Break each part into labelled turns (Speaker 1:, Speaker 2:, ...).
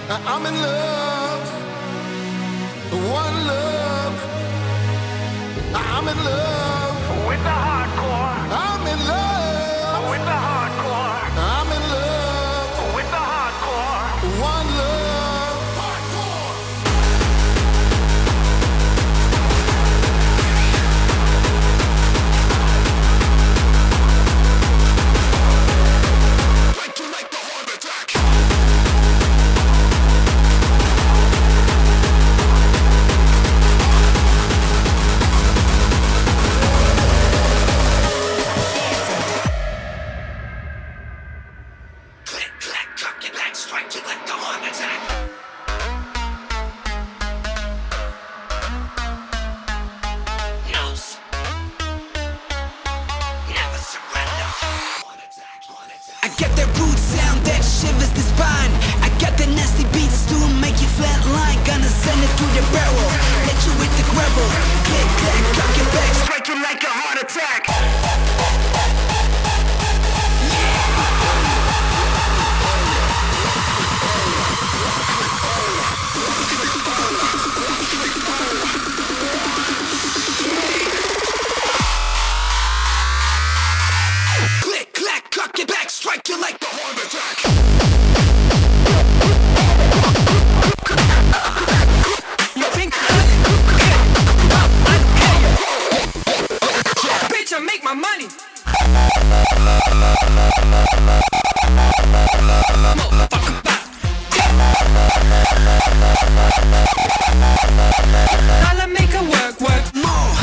Speaker 1: I'm in love, one love. I'm in love
Speaker 2: with the hardcore.
Speaker 1: I'm in love
Speaker 2: With the hardcore.
Speaker 1: I'm in love,
Speaker 2: With the hardcore.
Speaker 1: one love. Like you like the heart attack. Click, clack, cock your back, strike you like the heart attack. Nose. Never surrender. Heart attack, heart attack.
Speaker 3: I got that rude sound that shivers the spine. I got the nasty beats to make you flatline. Gonna send it through the barrel, hit you with the gravel. Click, clack, cock your back, strike you like a heart attack. Click, clack, cock your back, strike you like the heart attack.
Speaker 4: You think bitch, I make my money. Motherfucker, bop. Dollar make her work, work
Speaker 3: More.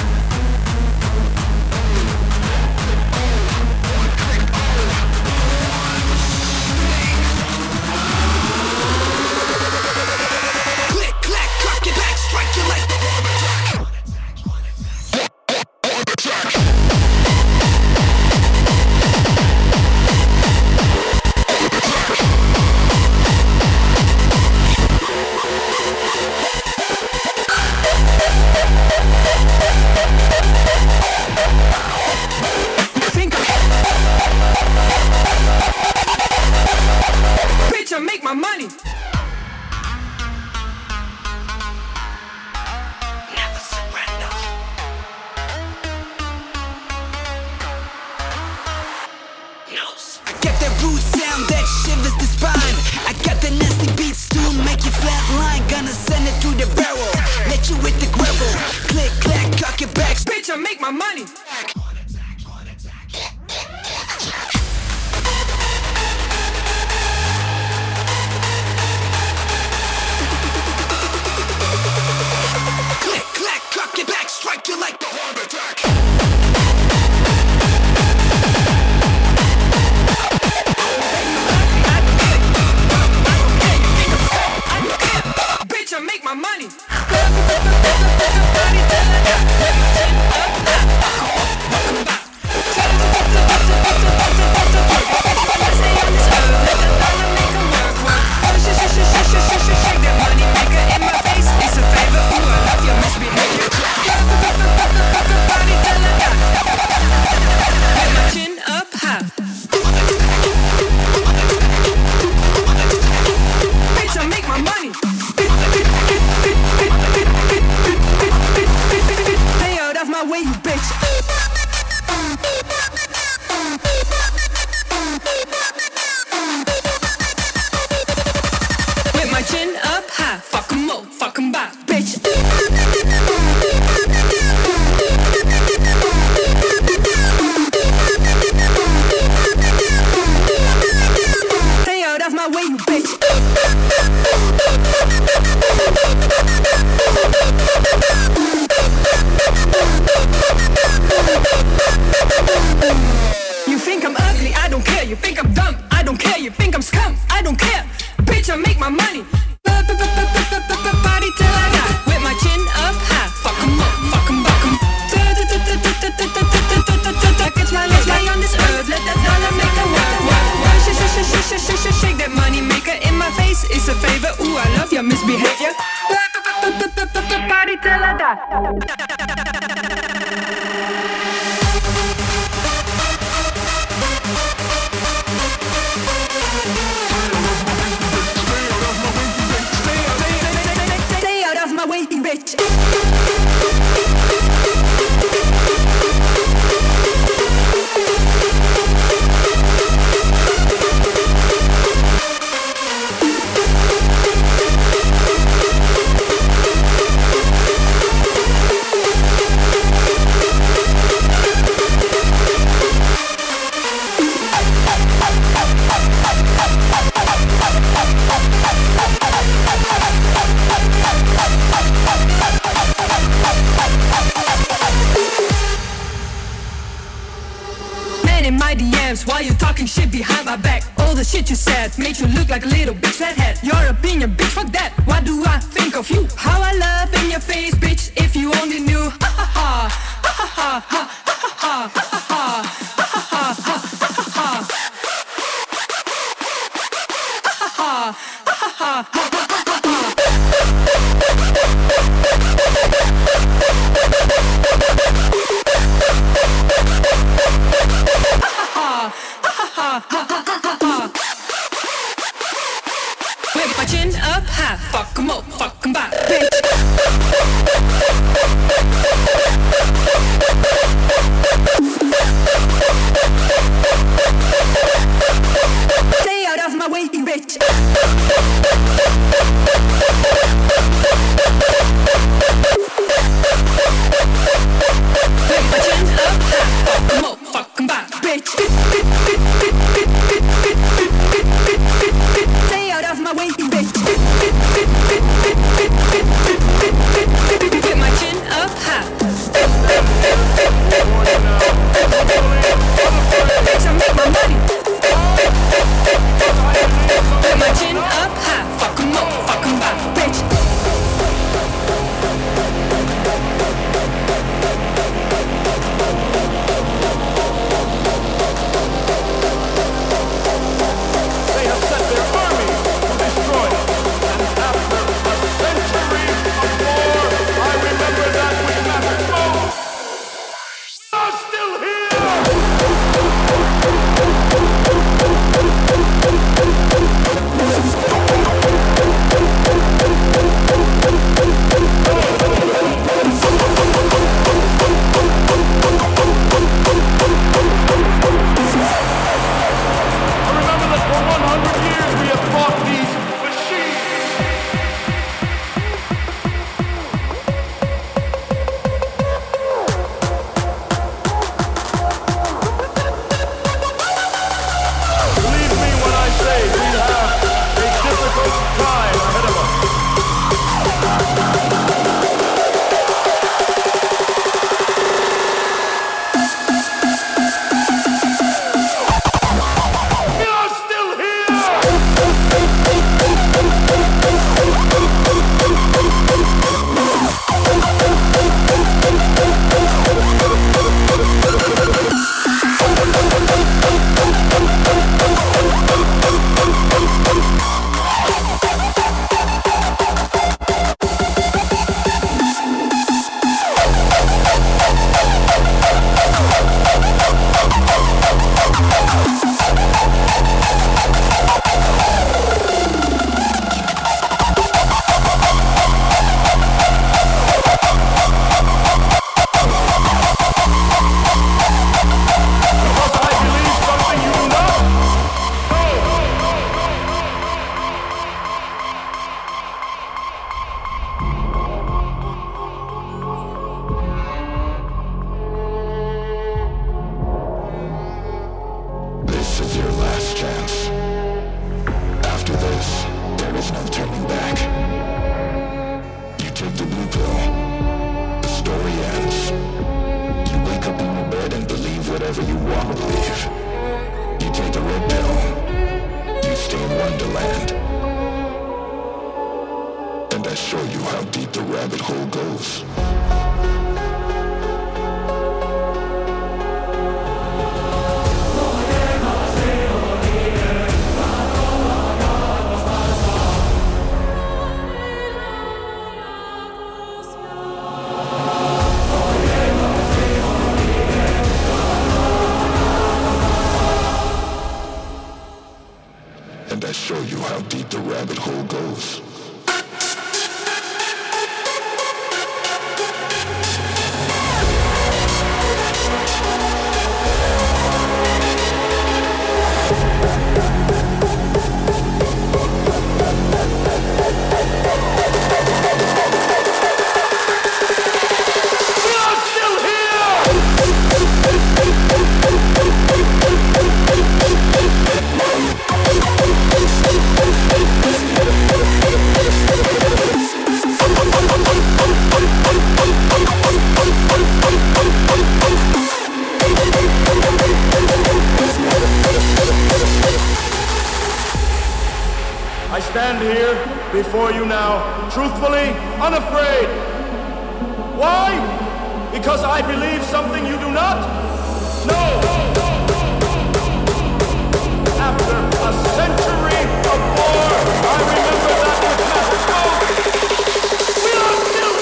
Speaker 3: Click, clack, cock your back, strike you like the heart attack.
Speaker 4: You think bitch, I make my money.
Speaker 3: Never surrender.
Speaker 1: Nose.
Speaker 3: I got that rude sound that shivers the spine. I got the nasty beats to make you flatline. Gonna send it through the barrel, let you with the gravel. Click, clack, cock your back.
Speaker 4: Bitch, I make my money.
Speaker 1: Heart attack, heart attack. Click, clack, cock your back, strike you like the heart attack.
Speaker 4: Bitch, I make my money. Shake that money maker in my face. It's a favor. Ooh, I love your misbehavior. Body till I die. With my chin up high. Bitch, I make my money. Stay out of my way, you bitch. With my chin up high. Fuck 'em up, fuck 'em back, bitch. Stay out of my way, you bitch. You think I'm ugly, I don't care. You think I'm dumb, I don't care. You think I'm scum, I don't care. Bitch, I make my money. Body till I die. With my chin up high. Fuck 'em up, fuck 'em, fuck 'em. Against my legs, lie on this earth. Let that dollar make a work. Shake that money maker in my face. It's a favor. Ooh, I love your misbehavior. Body till I die. DMs while you talking shit behind my back. All the shit you said made you look like a little bitch flathead. Your opinion, bitch, fuck that. What do I think of you? How I love in your face, bitch, if you only knew. Ha ha ha, ha ha ha, ha ha ha, ha ha ha, ha ha ha, ha ha ha, ha ha ha. With my chin up high, fuck 'em up, fuck 'em back, bitch. Stay out of my way, bitch. With my chin up high, fuck 'em up, fuck 'em back, bitch. Stay out of my way, bitch. With my chin up high. Bitch, I make my money. With my chin up high. Fuck 'em up, fuck 'em back, bitch.
Speaker 2: They have sent their army to destroy us. And after a century of war, I remember that which mattered most. We are still I remember that for 100 years we have fought these machines. Believe me when I say we have a difficult time ahead of us. We are still here! Because I believe something you do not.
Speaker 1: This is your last chance. After this, there is no turning back. You take the blue pill. The story ends. You wake up in your bed and believe whatever you want to believe. You take the red pill. You stay in Wonderland. And I show you how deep the rabbit hole goes. And I show you how deep the rabbit hole goes.
Speaker 2: We are still here! before you now, truthfully, unafraid. Why? Because I believe something you do not? No! After a century of war, I remember that with massive smoke. We are still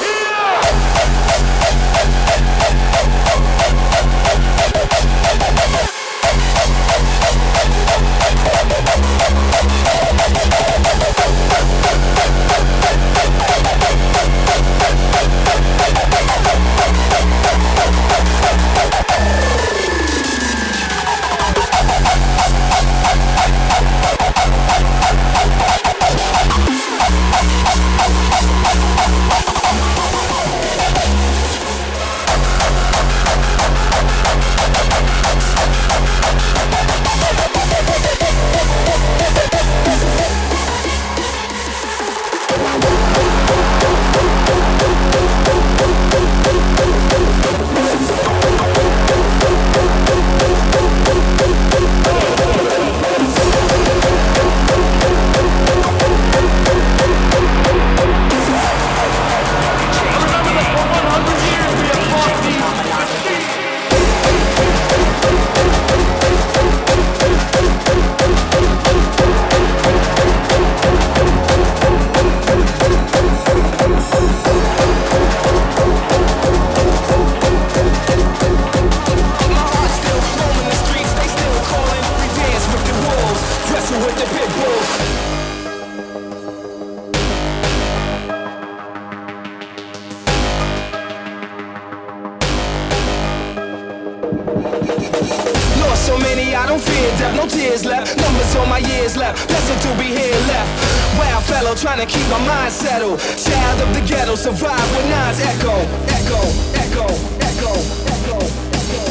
Speaker 5: trying to keep my mind settled. Child of the ghetto, survive with nines echo, echo, echo, echo, echo, echo.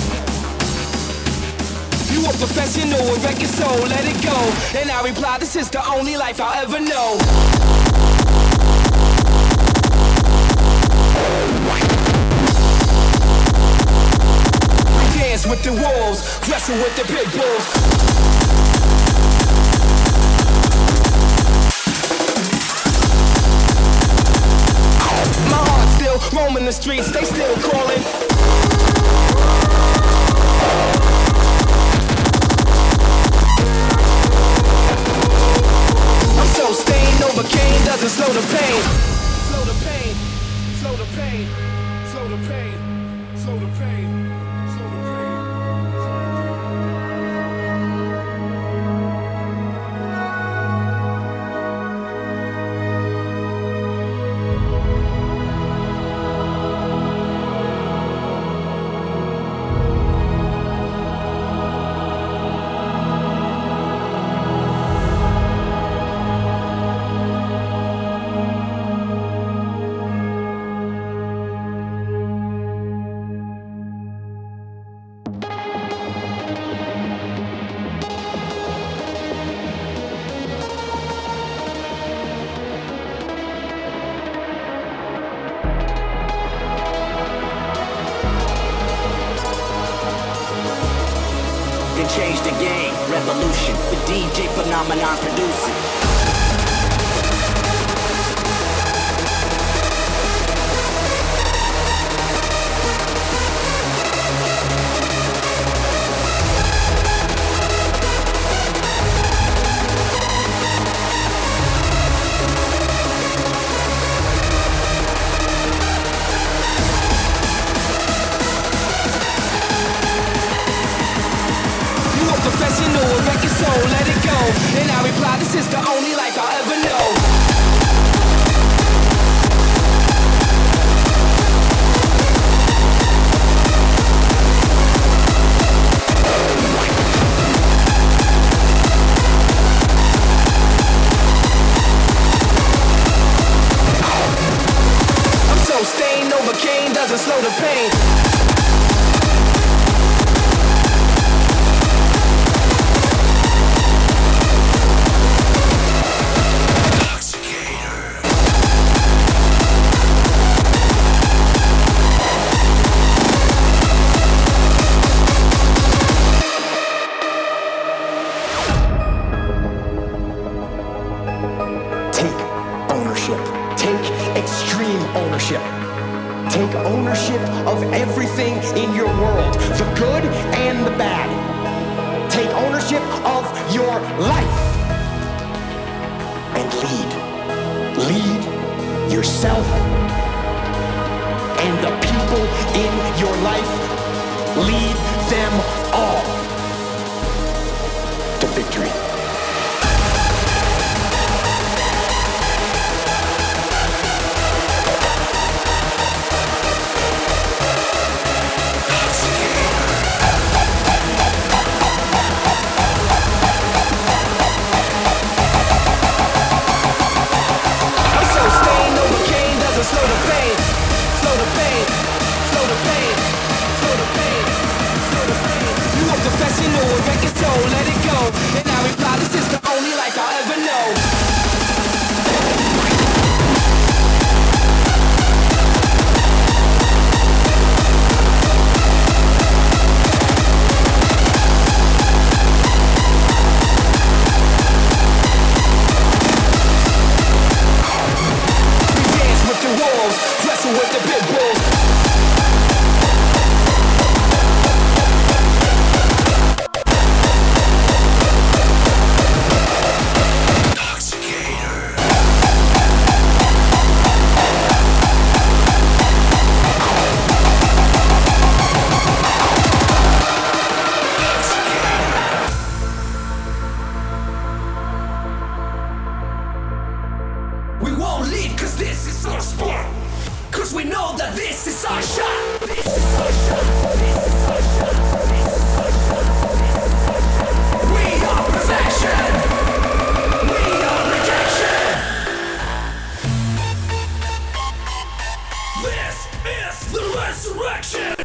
Speaker 5: You a professional and wreck your soul, let it go. And I reply, this is the only life I'll ever know. We dance with the wolves, wrestle with the pit bulls. Roaming the streets, they still calling. I'm so stained, Novocaine doesn't slow the pain. Slow the pain, slow the pain, slow the pain, slow the pain, slow the pain.
Speaker 3: Change the game, revolution. The DJ phenomenon producing.
Speaker 5: Professional, wreck your soul, let it go. And I reply, this is the only life I'll ever know. I'm so stained, Novocaine doesn't slow the pain.
Speaker 3: Take
Speaker 6: ownership. Take extreme ownership. Take ownership of everything in your world, the good and the bad. Take ownership of your life and lead. Lead yourself and the people in your life. Lead them all to victory.
Speaker 5: Slow the pain, slow the pain, slow the pain, slow the pain, slow the pain. You a professional, a record soul, let it go. And I reply, this is the only life I'll ever know. With the pit bulls.
Speaker 3: We won't leave 'cause this is our sport. 'Cause we know that this is our shot. This is our shot. This is our shot. This is our shot. We are perfection. We are rejection. This is the resurrection.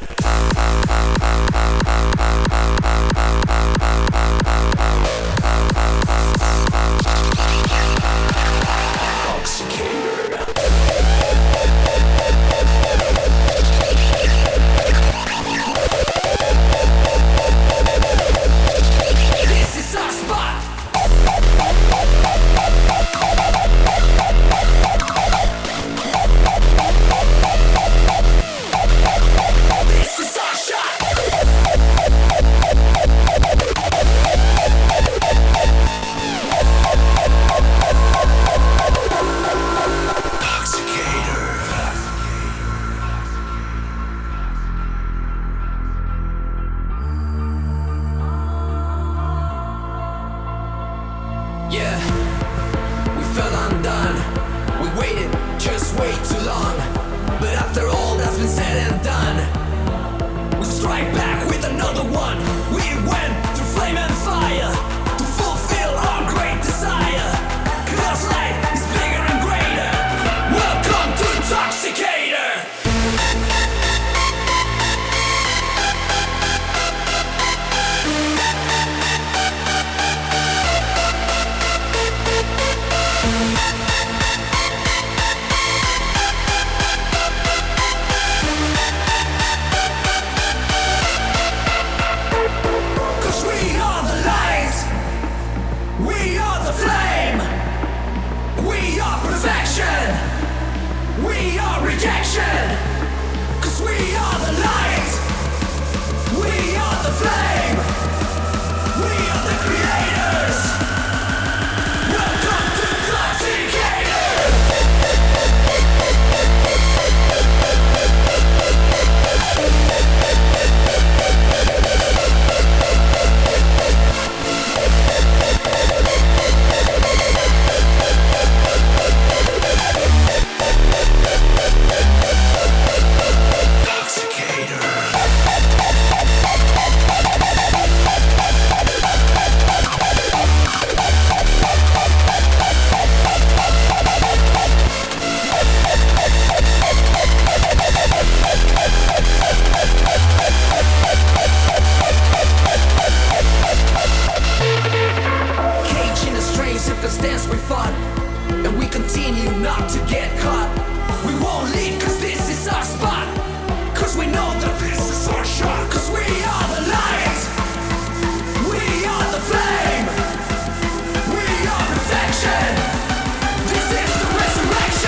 Speaker 3: This is the resurrection.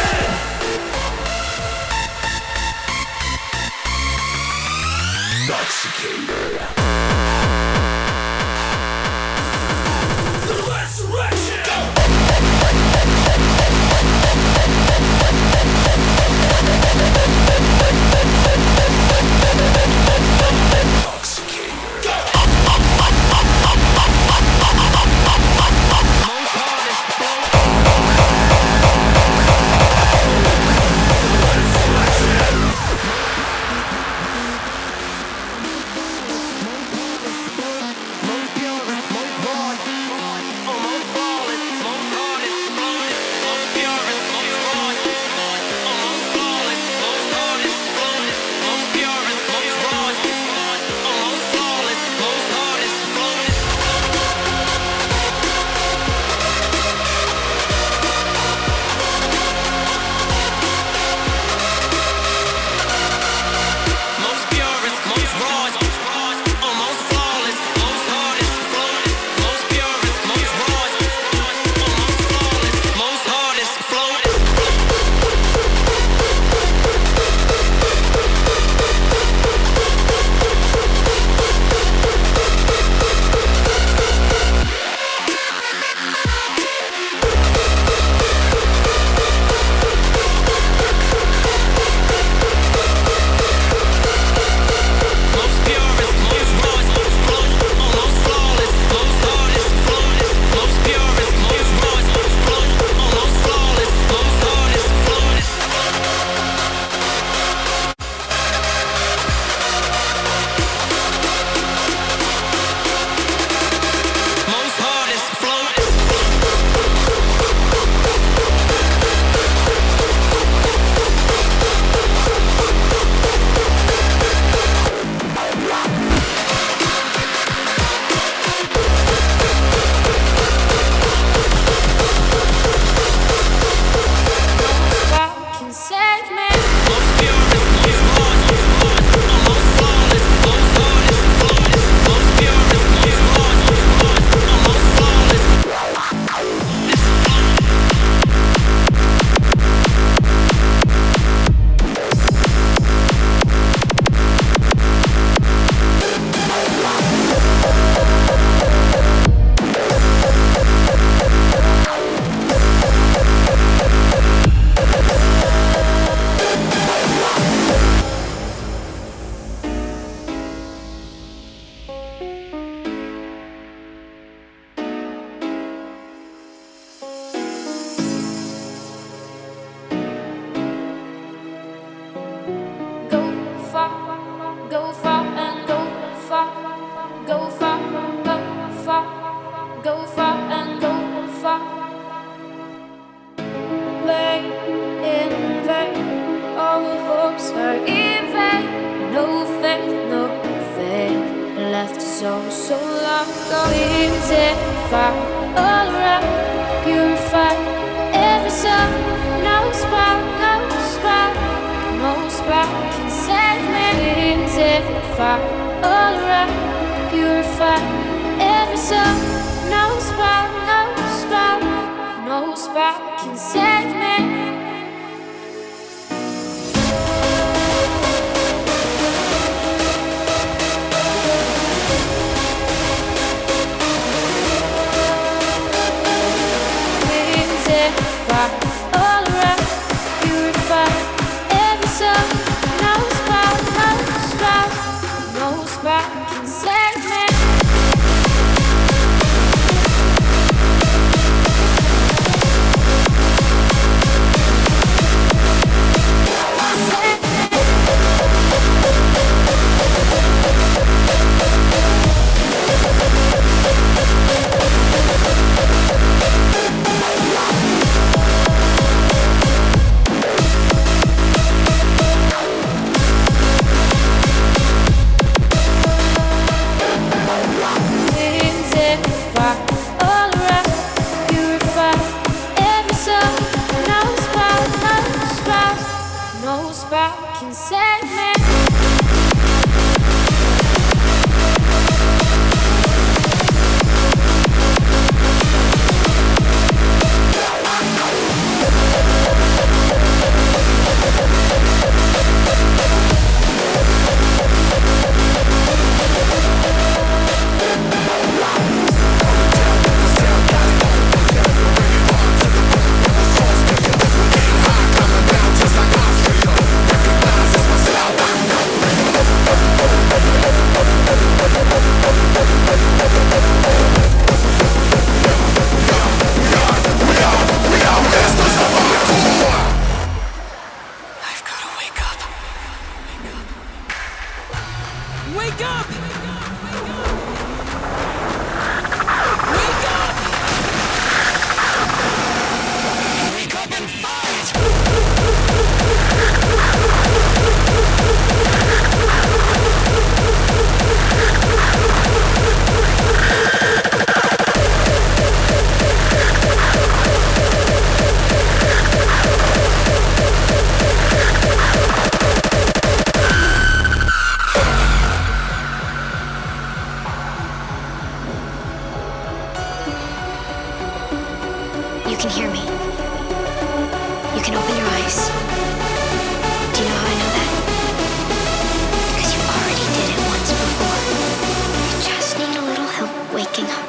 Speaker 7: can open your eyes. Do you know how I know that? Because you already did it once before. You just need a little help waking up.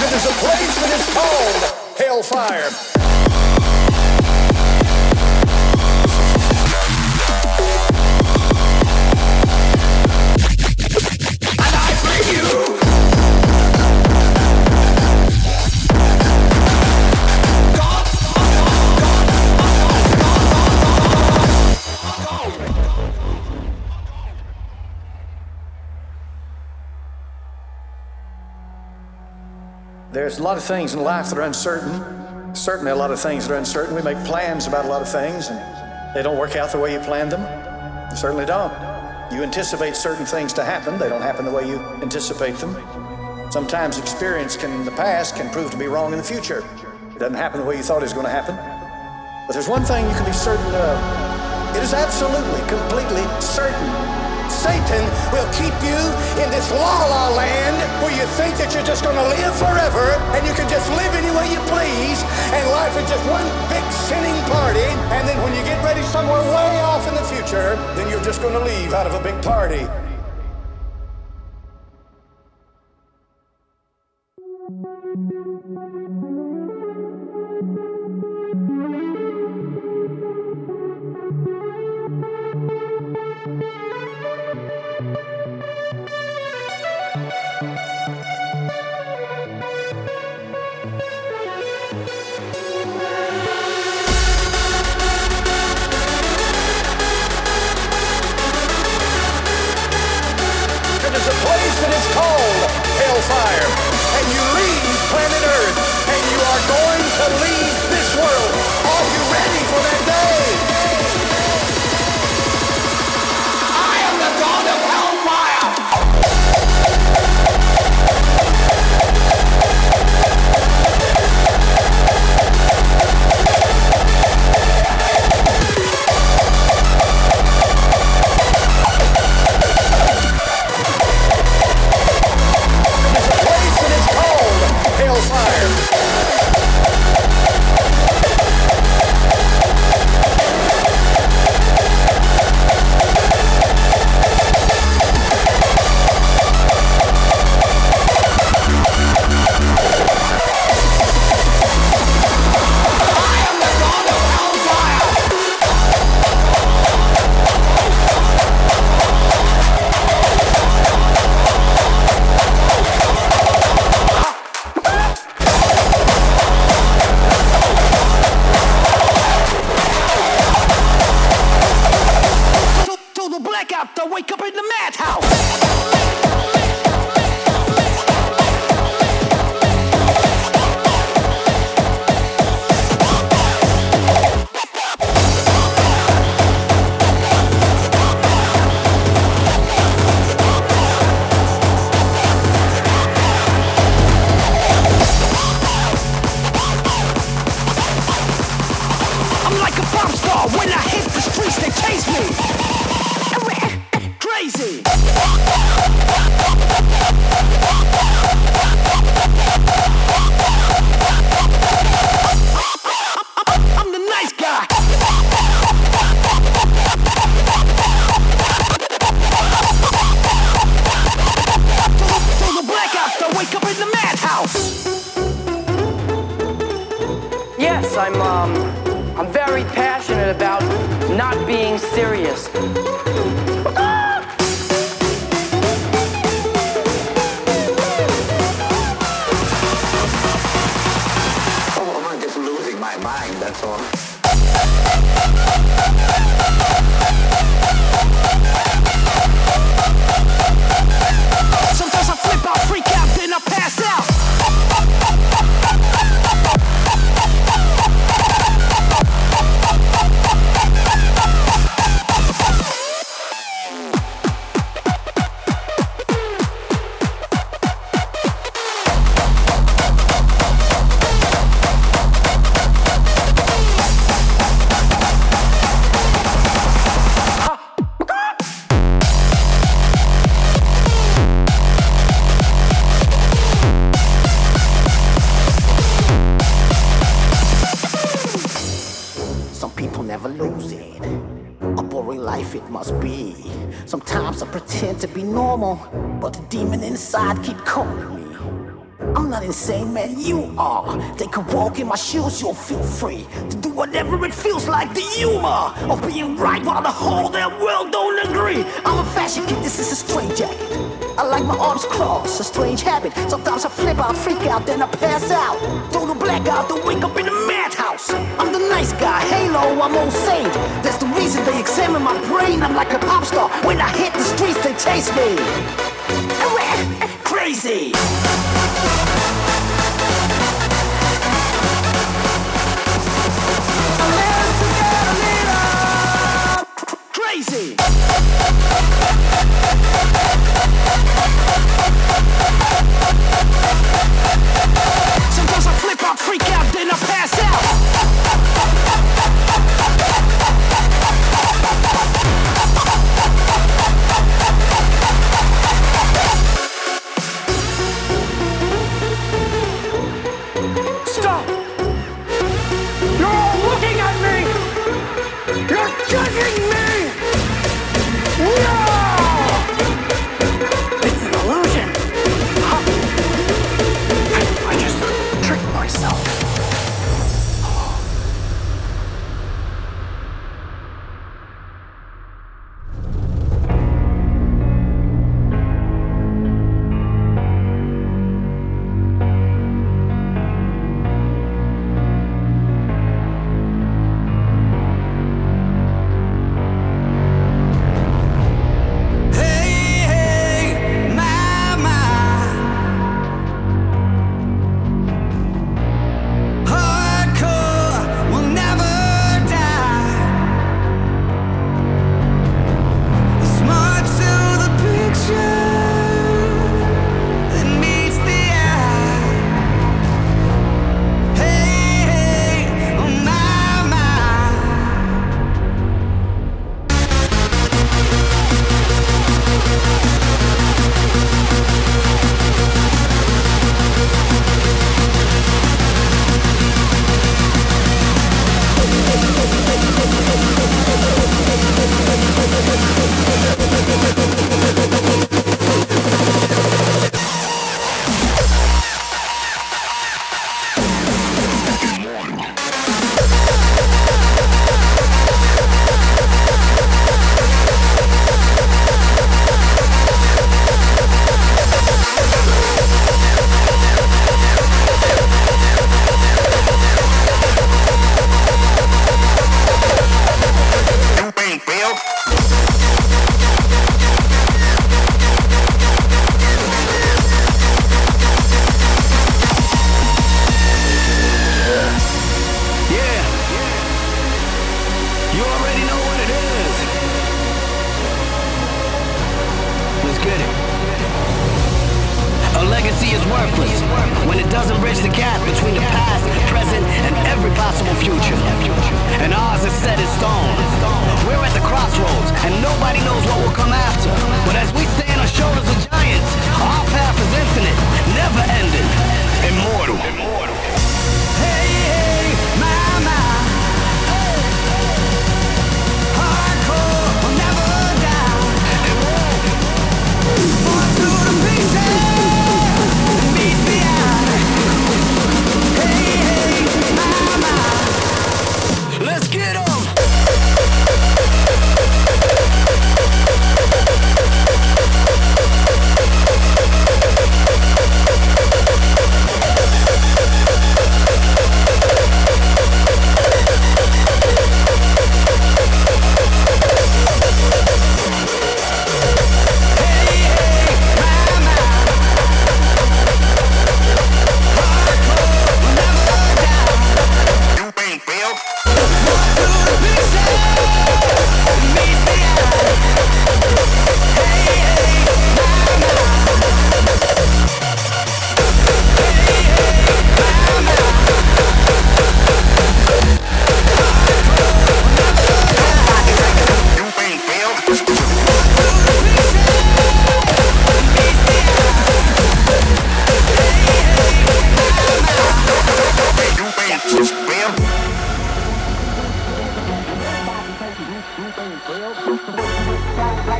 Speaker 8: There's a place that is called Hellfire. There's a lot of things in life that are uncertain. Certainly a lot of things that are uncertain. We make plans about a lot of things and they don't work out the way you planned them. They certainly don't. You anticipate certain things to happen. They don't happen the way you anticipate them. Sometimes experience in the past can prove to be wrong in the future. It doesn't happen the way you thought it was going to happen. But there's one thing you can be certain of. It is absolutely, completely certain. Satan will keep you in this la-la land where you think that you're just going to live forever and you can just live any way you please and life is just one big sinning party, and then when you get ready somewhere way off in the future, then you're just going to leave out of a big party. Hellfire, and you leave planet Earth, and you are going to leave this world. Are you ready for that day? I am the God of Hellfire.
Speaker 9: Yes, I'm very passionate about not being serious.
Speaker 10: Oh, I'm just losing my mind, that's all.
Speaker 5: Sometimes I flip out, freak out, then I pass out.
Speaker 6: It must be. Sometimes I pretend to be normal, but the demon inside keep calling me.
Speaker 11: I'm not insane, man, you are. Take a walk in my shoes, you'll feel free to do whatever it feels like. The humor of being right while the whole damn world don't agree. I'm a fashion kid, this is a straight jacket. I like my arms crossed, a strange habit. Sometimes I flip out, freak out, then I pass out. Total blackout, to wake up in a madhouse. I'm the nice guy, halo, I'm old saint. That's the reason they examine my brain. I'm like a pop star, when I hit the streets they chase me. Crazy. Crazy. Sometimes I flip out, freak out, then I pass out. Stop! You're all looking at me! You're judging me! No! It's an illusion! I just tricked myself.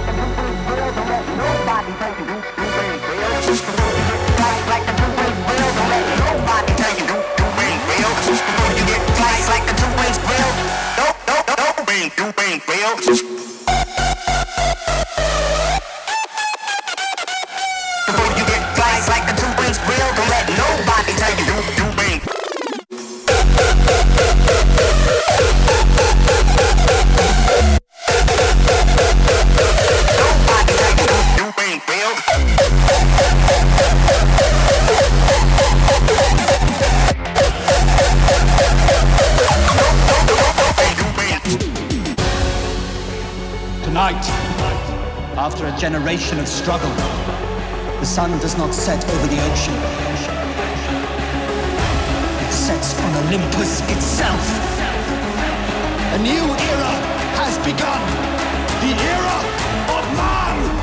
Speaker 11: Like the
Speaker 12: night, after a generation of struggle, the sun does not set over the ocean. It sets on Olympus itself.
Speaker 13: A new era has begun. The era of man.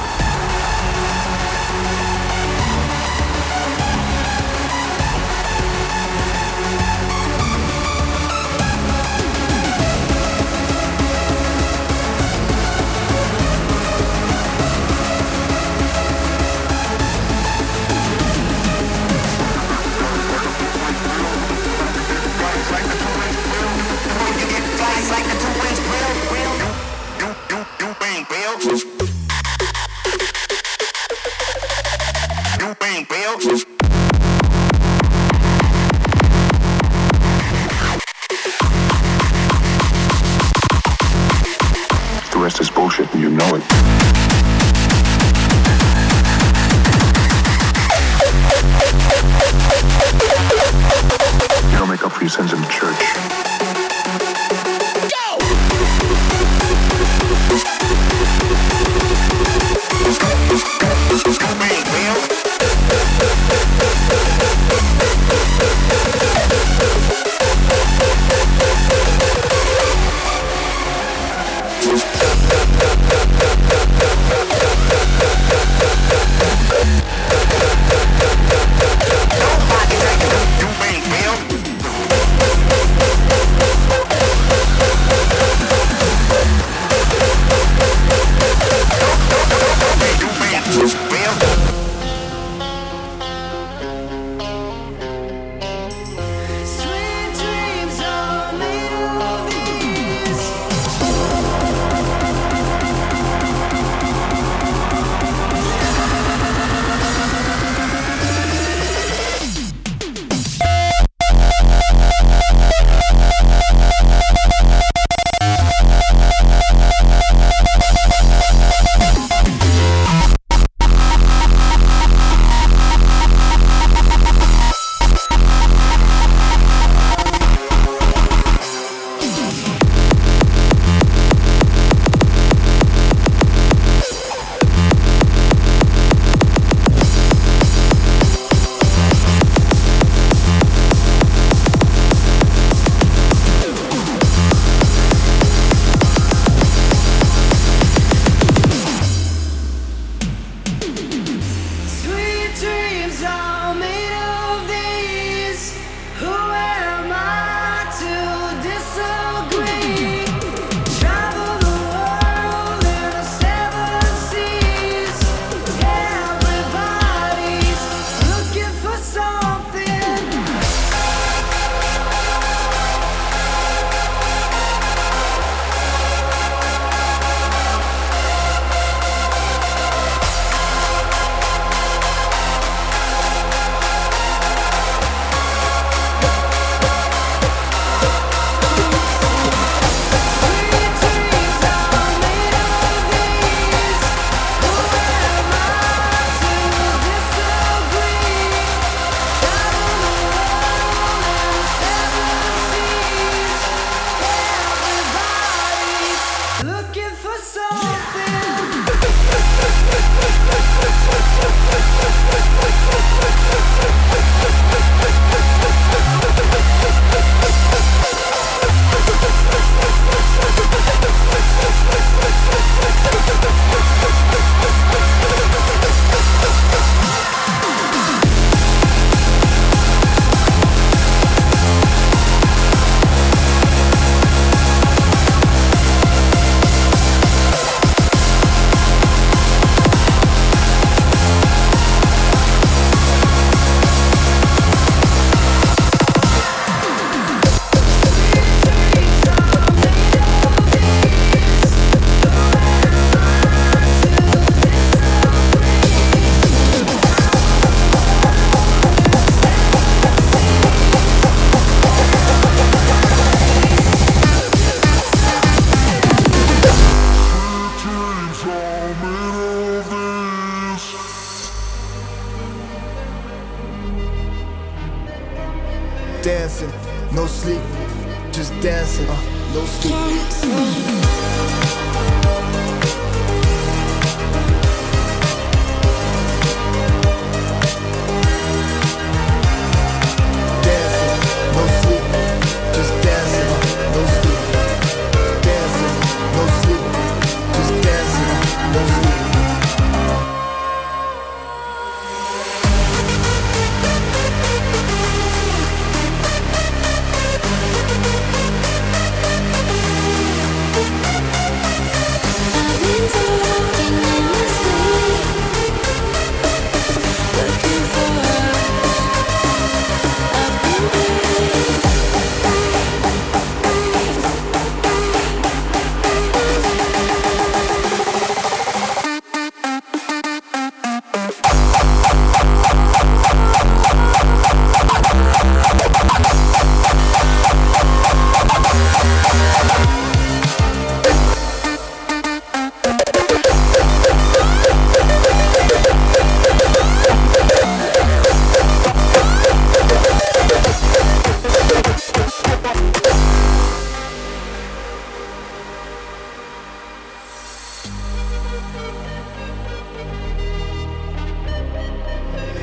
Speaker 1: The rest is bullshit and you know it. You don't make up for your sins in the church.
Speaker 14: dancing, no sleep, just dancing, no sleep.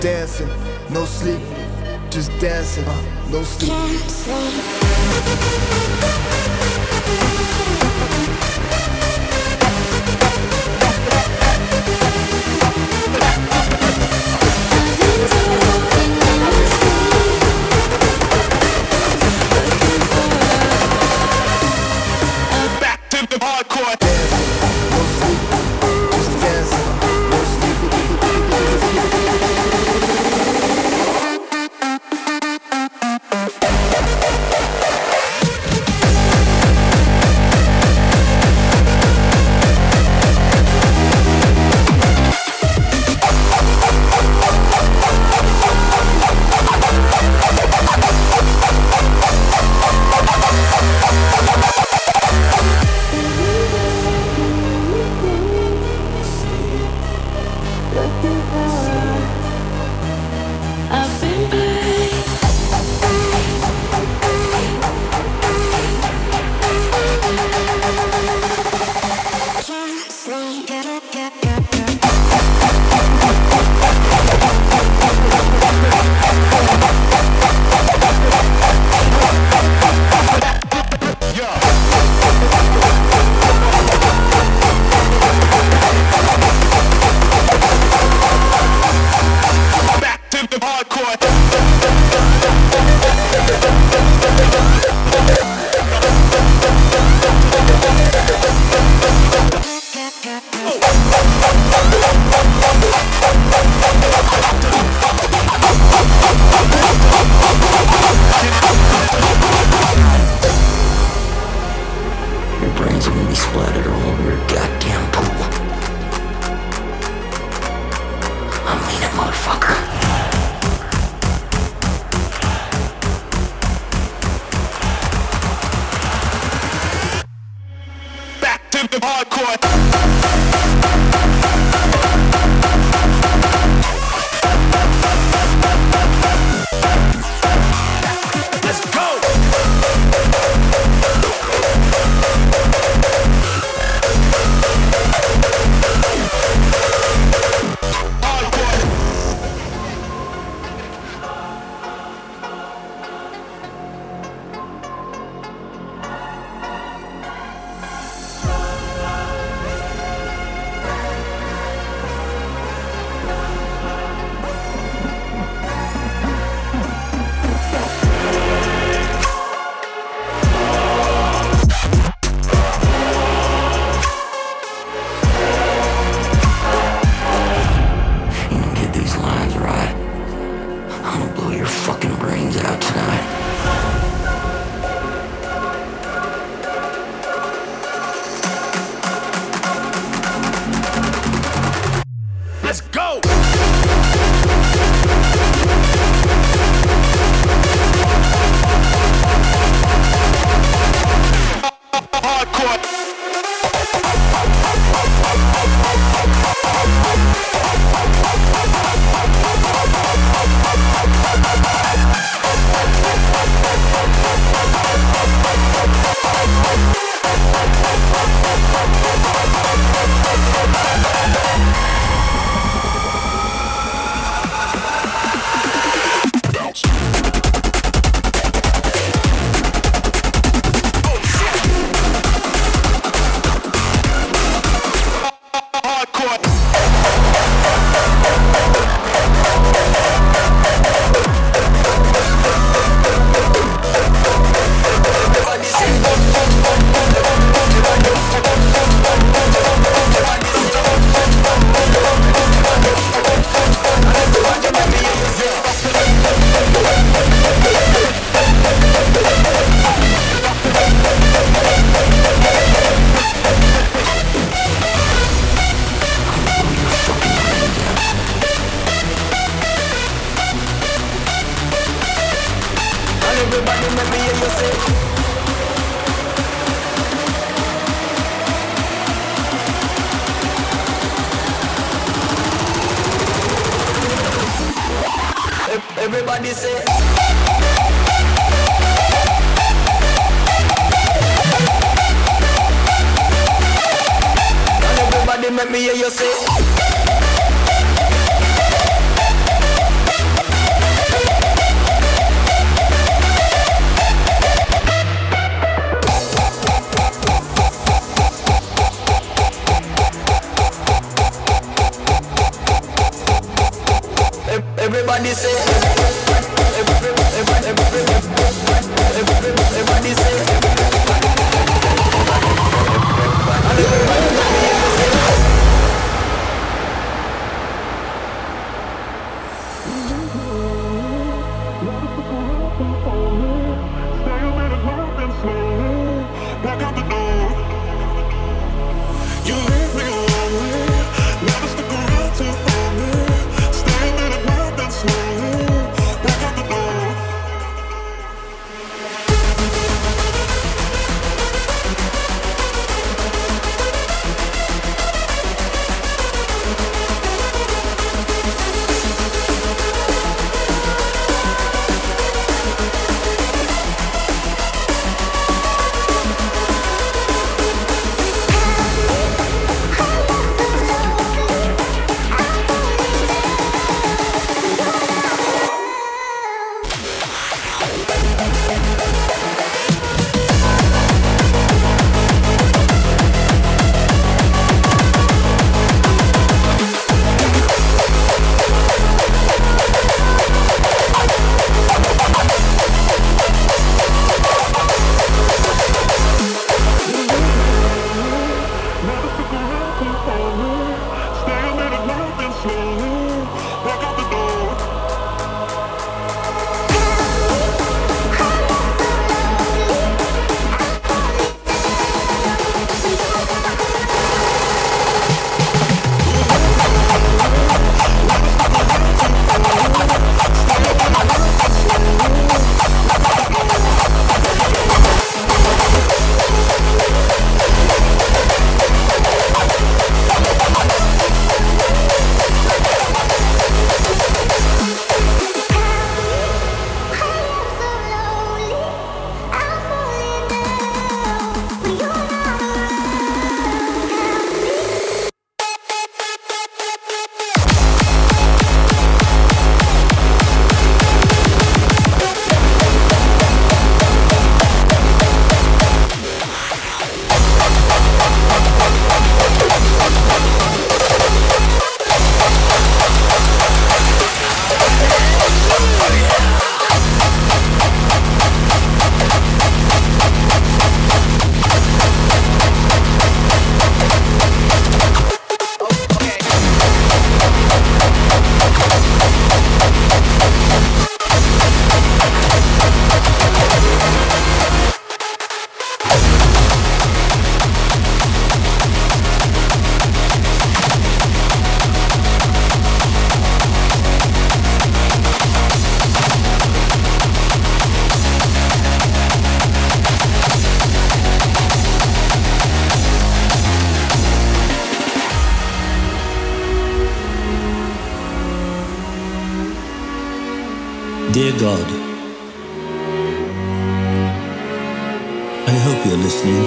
Speaker 14: dancing, no sleep, just dancing, no sleep.
Speaker 2: Back to the hardcore.
Speaker 5: Everybody say. And everybody make me hear you say.
Speaker 3: everybody say. Everybody say.
Speaker 2: Back out the door. You leave me lonely. Never stuck around to hold me. Stay a minute more than slowly. Back out the door.
Speaker 15: Dear God, I hope you're listening.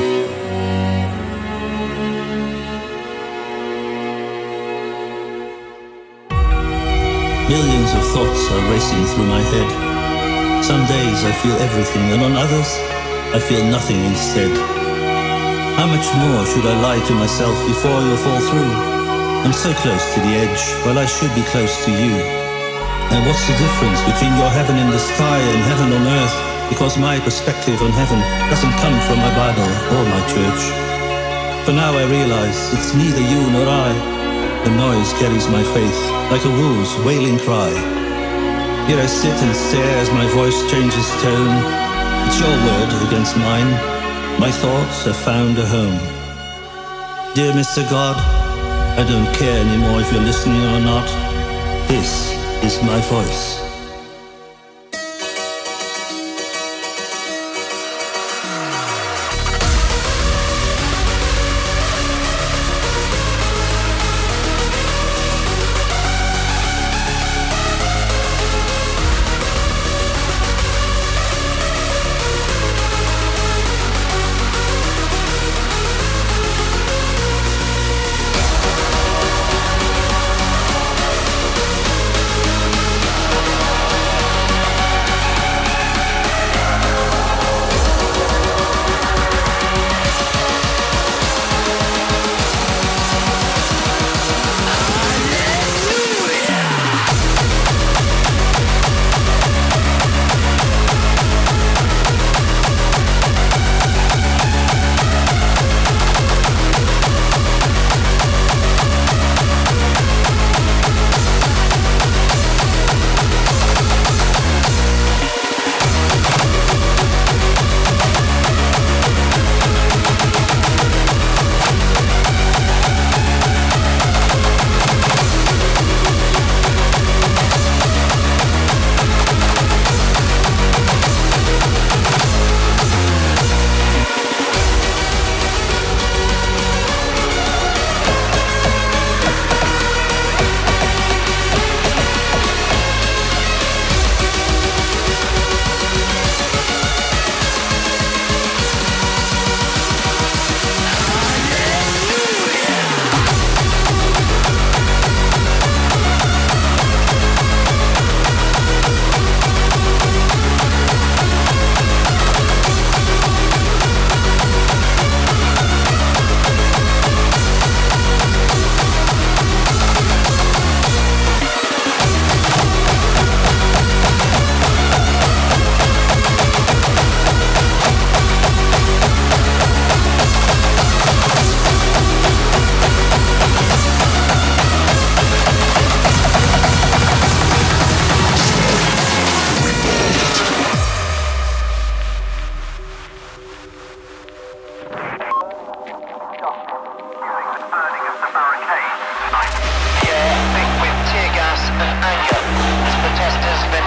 Speaker 15: Millions of thoughts are racing through my head. Some days I feel everything, and on others I feel nothing instead. How much more should I lie to myself before you fall through? I'm so close to the edge, while I should be close to you. And what's the difference between your heaven in the sky and heaven on earth? Because my perspective on heaven doesn't come from my Bible or my church. For now I realize it's neither you nor I. The noise carries my faith like a wolf's wailing cry. Here I sit and stare as my voice changes tone. It's your word against mine. My thoughts have found a home. Dear Mr. God, I don't care anymore if you're listening or not. This is my voice.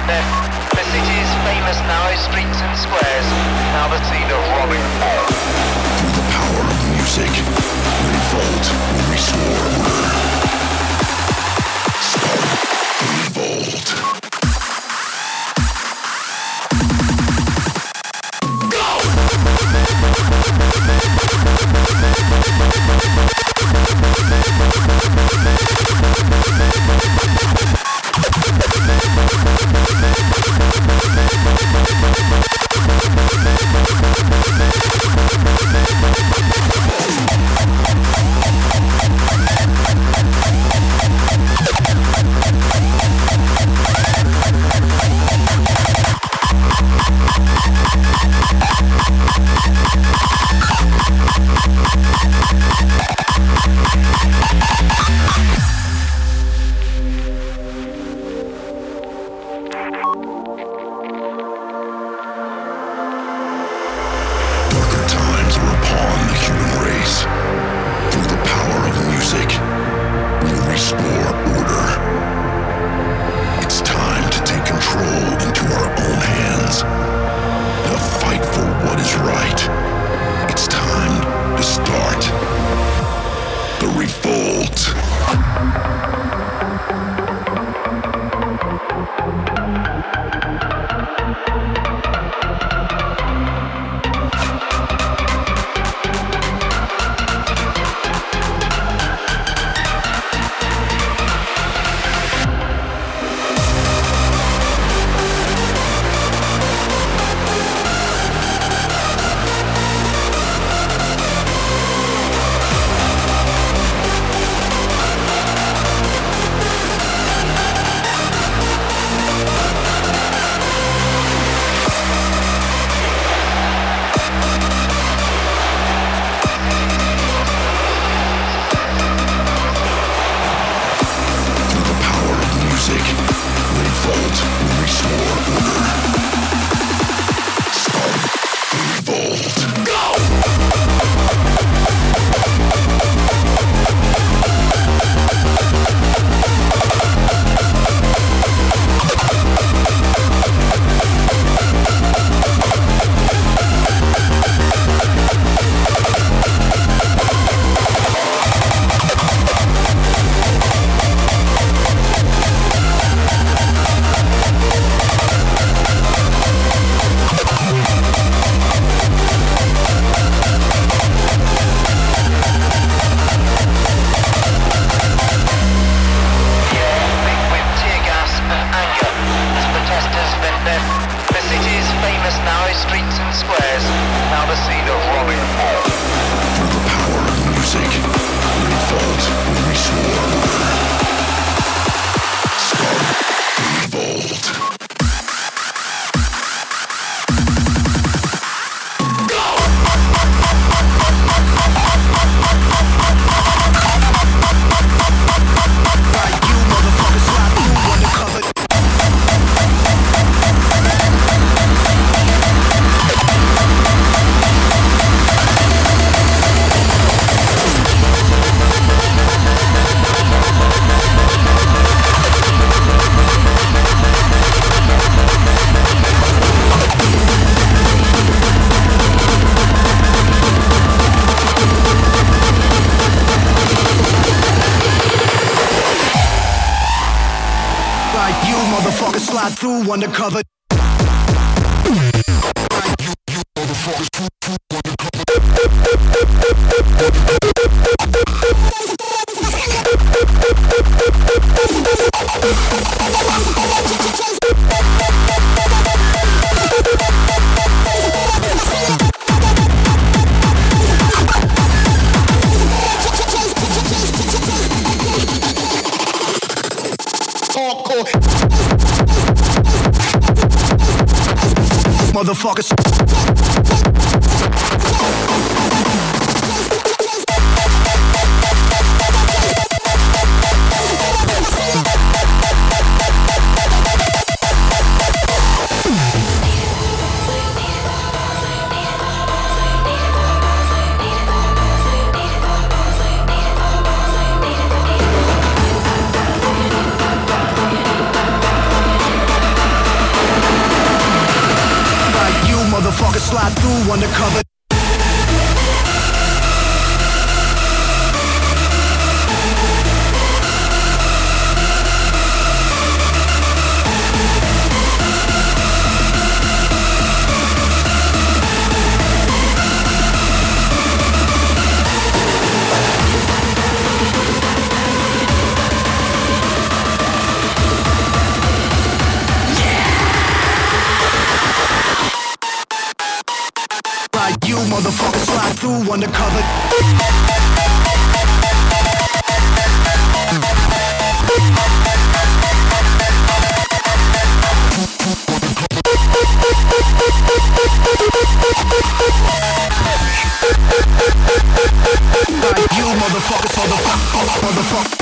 Speaker 16: their city's famous narrow streets and squares, now the scene of robbing.
Speaker 1: Through the power of music, we revolt, we restore order. Start the revolt.
Speaker 13: Through undercover. Motherfuckers. slide through undercover. You motherfucker slide through undercover. You motherfucker.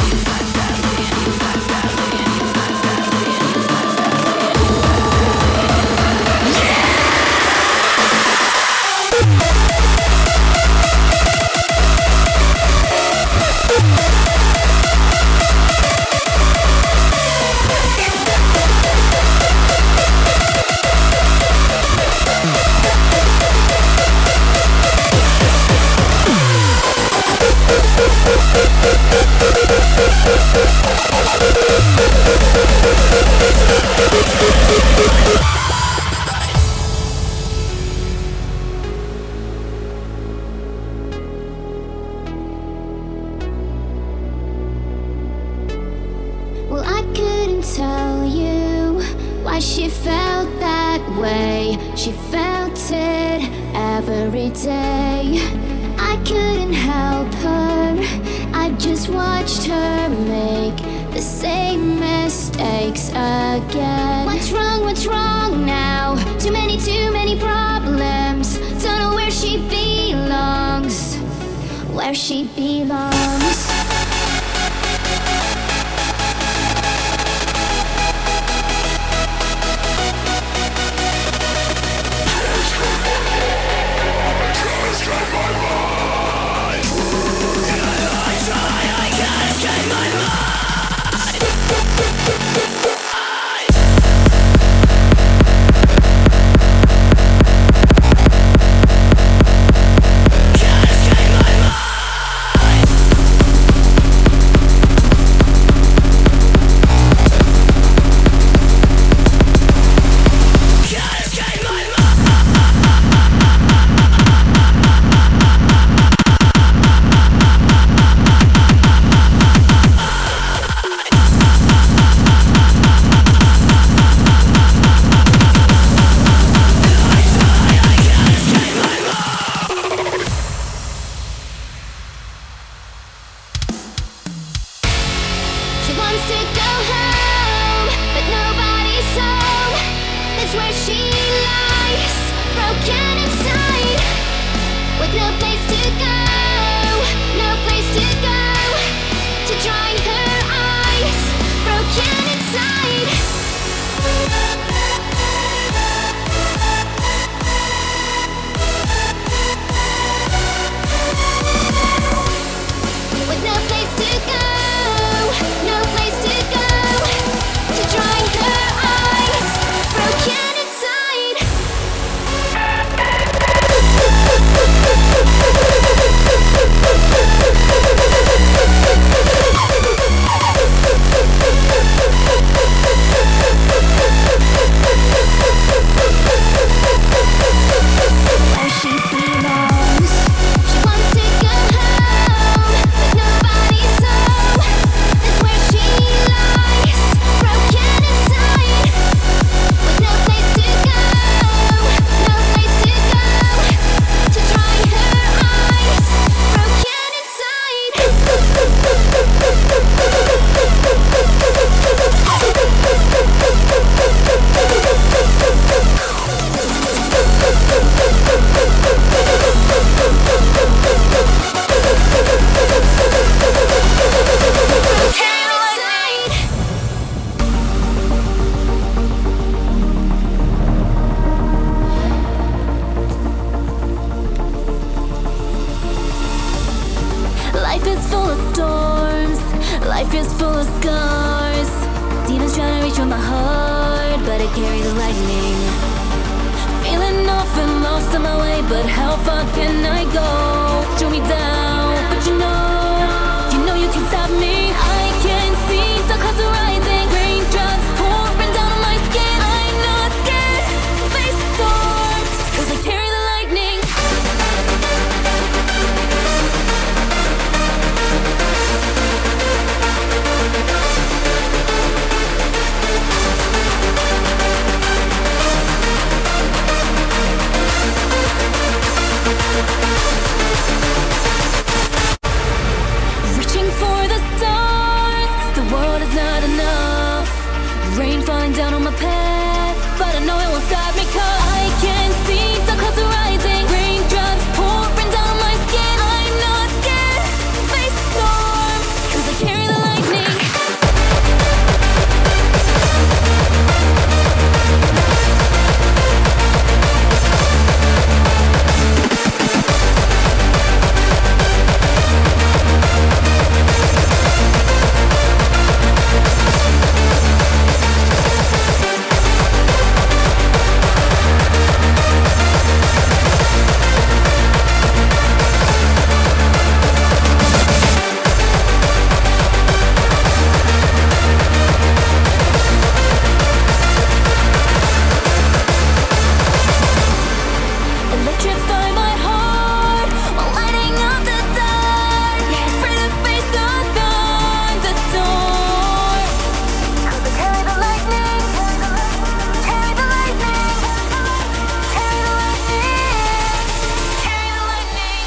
Speaker 7: Well, I couldn't tell you why she felt that way. She felt it every day. I couldn't help her, I just watched her make the same mistakes again. What's wrong now? Too many problems. Don't know where she belongs. Where she belongs.
Speaker 17: Demons trying to reach for my heart, but I carry the lightning. Feeling went off and lost on my way, but how far can I go? Shoot me down, but you know you can stop me. I can see the clouds are rising, raindrops pouring down on my skin. I'm not scared, face the storm, 'cause I carry the lightning. Reaching for the stars, 'cause the world is not enough. Rain falling down on my path, but I know it won't stop me, 'cause I can see the clouds are rising, raindrops pouring down on my skin. I'm not scared, face the storm, 'cause I carry the lightning. Electrify my heart while lighting up the dark. Afraid to face the thunderstorm, 'cause I carry the lightning, carry the lightning, carry the lightning, carry the lightning.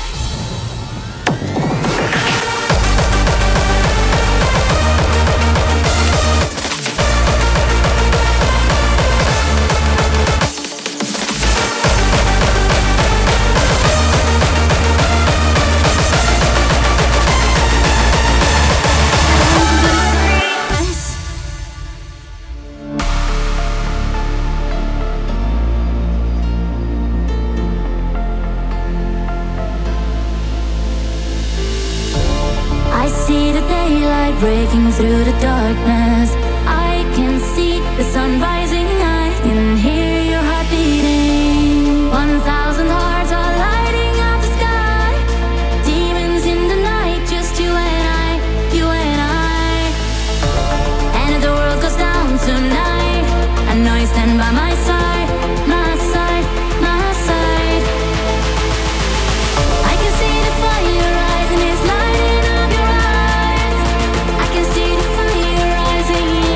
Speaker 17: I see the daylight breaking through the darkness. I can see the sun rising. I can hear your heart beating. 1,000 hearts are lighting up the sky. Demons in the night, just you and I, you and I. And if the world goes down tonight, I know you stand by my side, my side, my side. I can see the fire rising, it's lighting up your eyes. I can see the fire rising.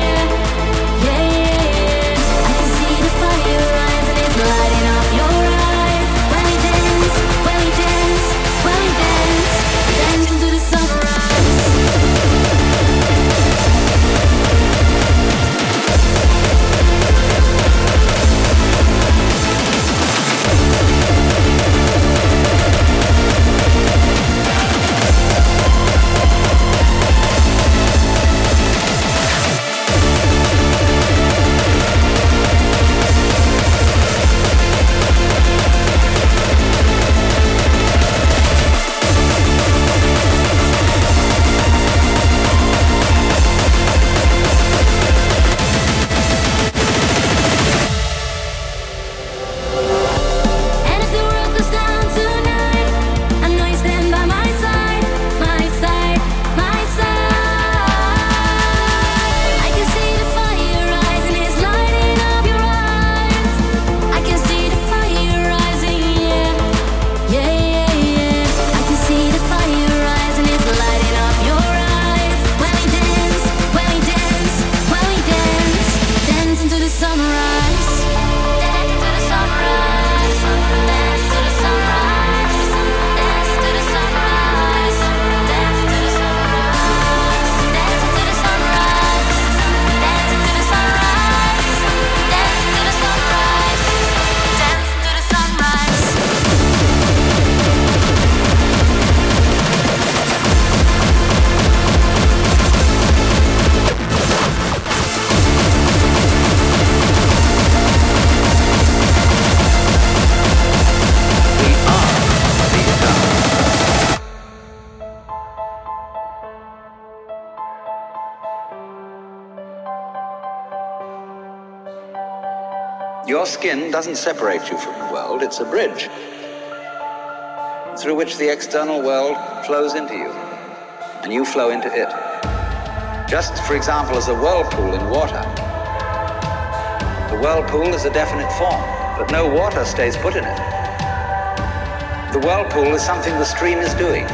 Speaker 18: Your skin doesn't separate you from the world, it's a bridge through which the external world flows into you, and you flow into it. Just, for example, as a whirlpool in water. The whirlpool is a definite form, but no water stays put in it. The whirlpool is something the stream is doing.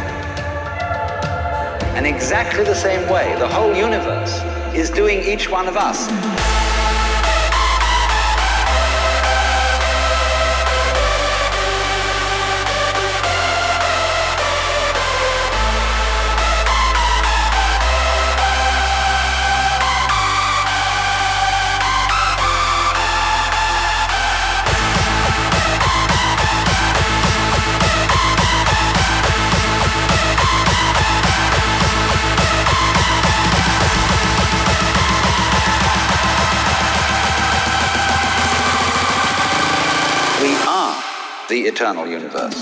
Speaker 18: And exactly the same way, the whole universe is doing each one of us. The eternal universe.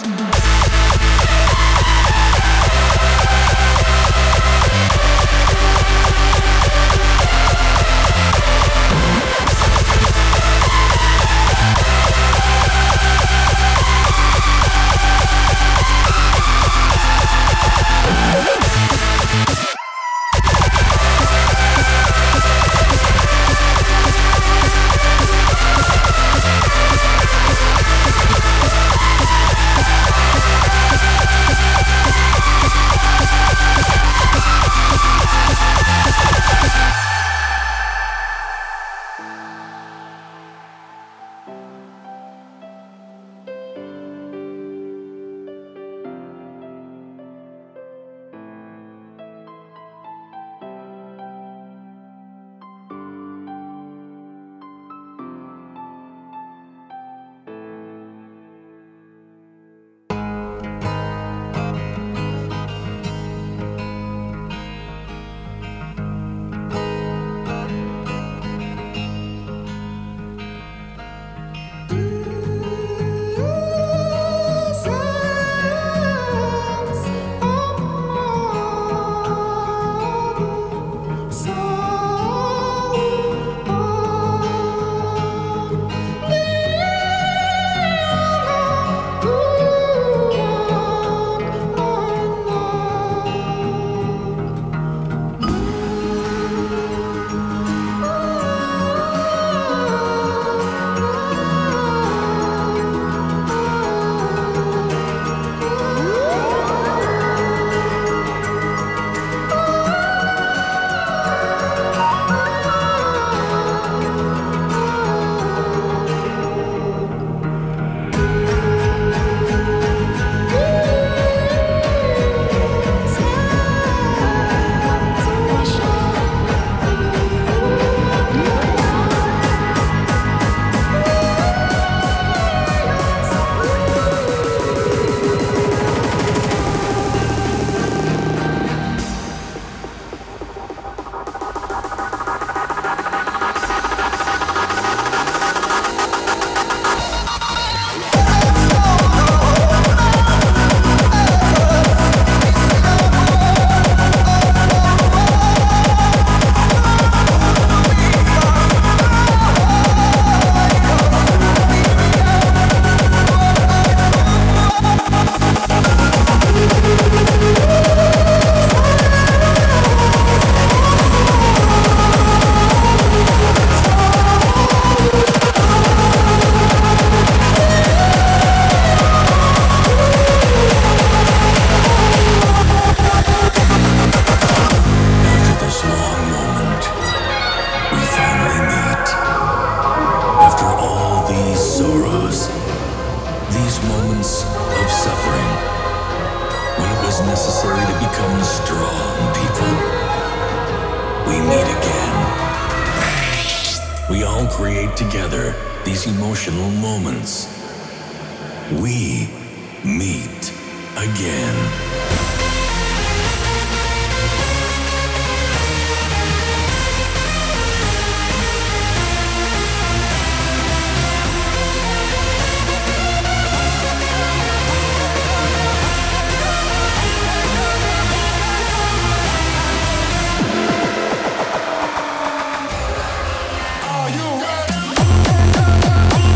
Speaker 2: Are you ready?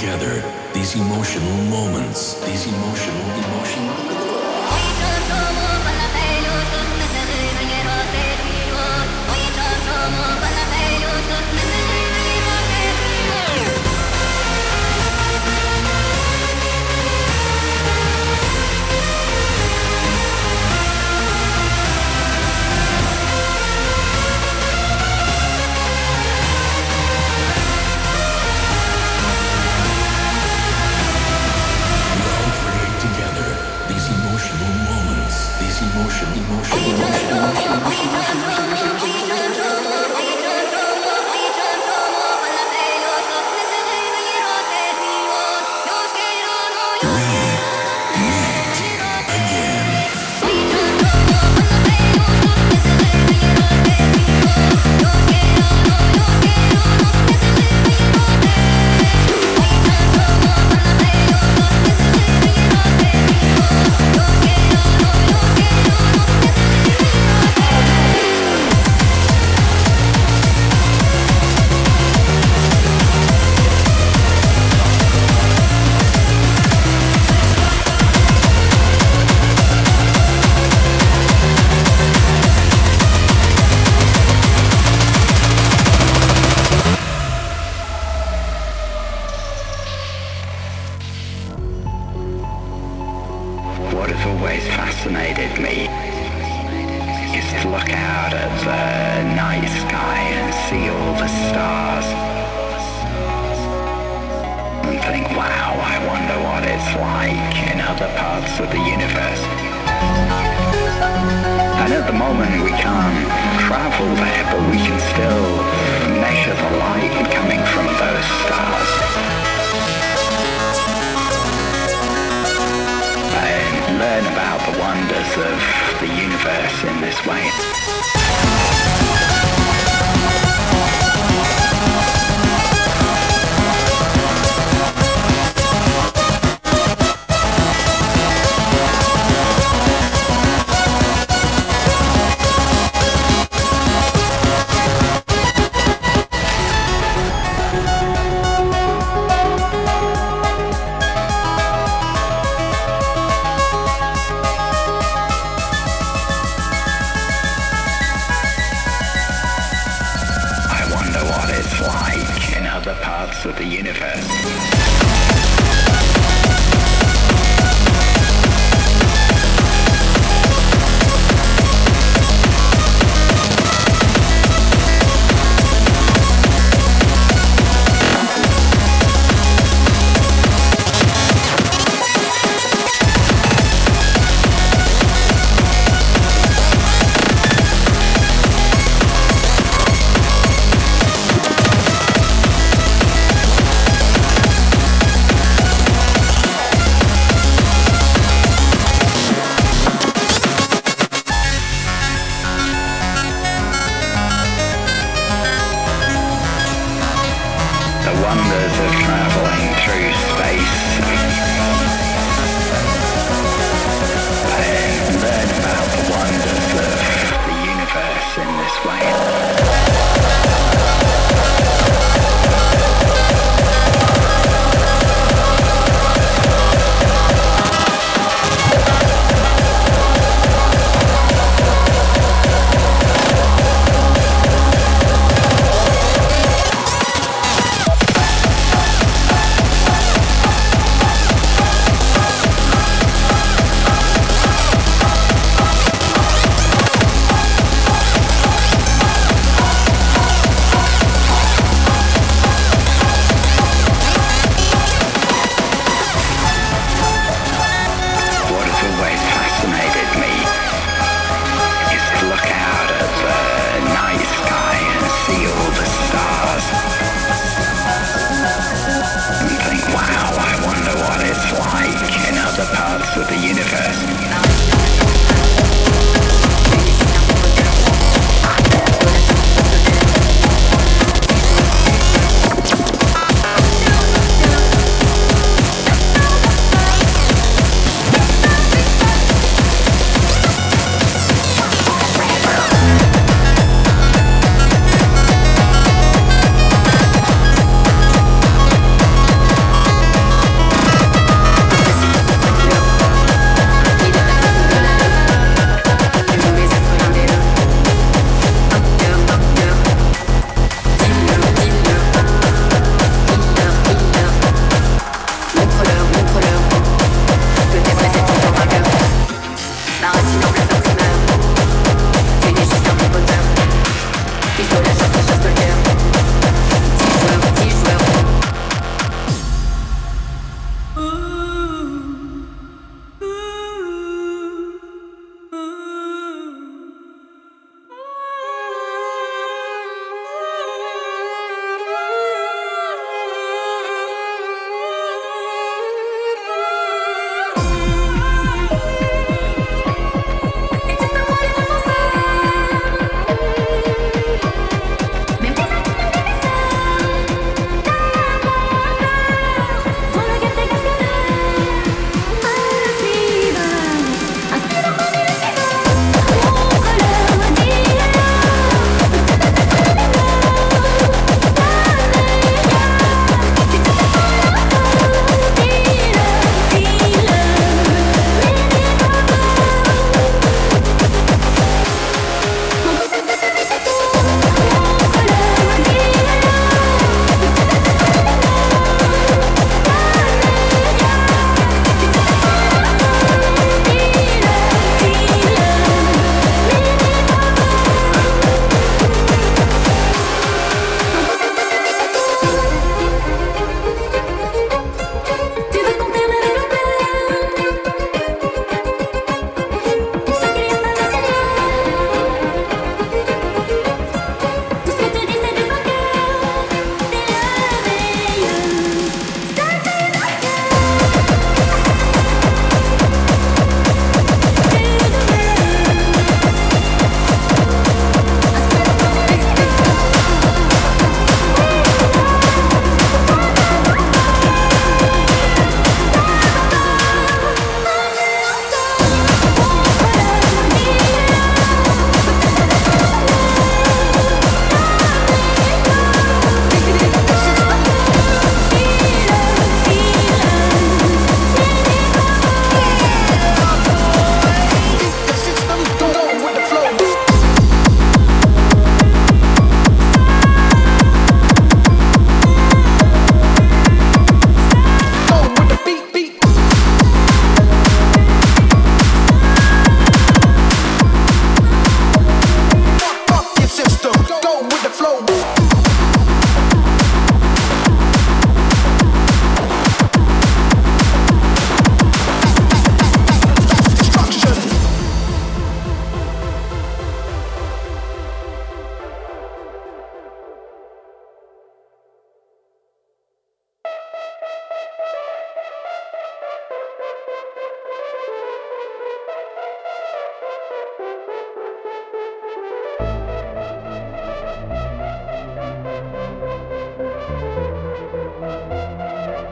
Speaker 19: together these emotional moments, these emotional.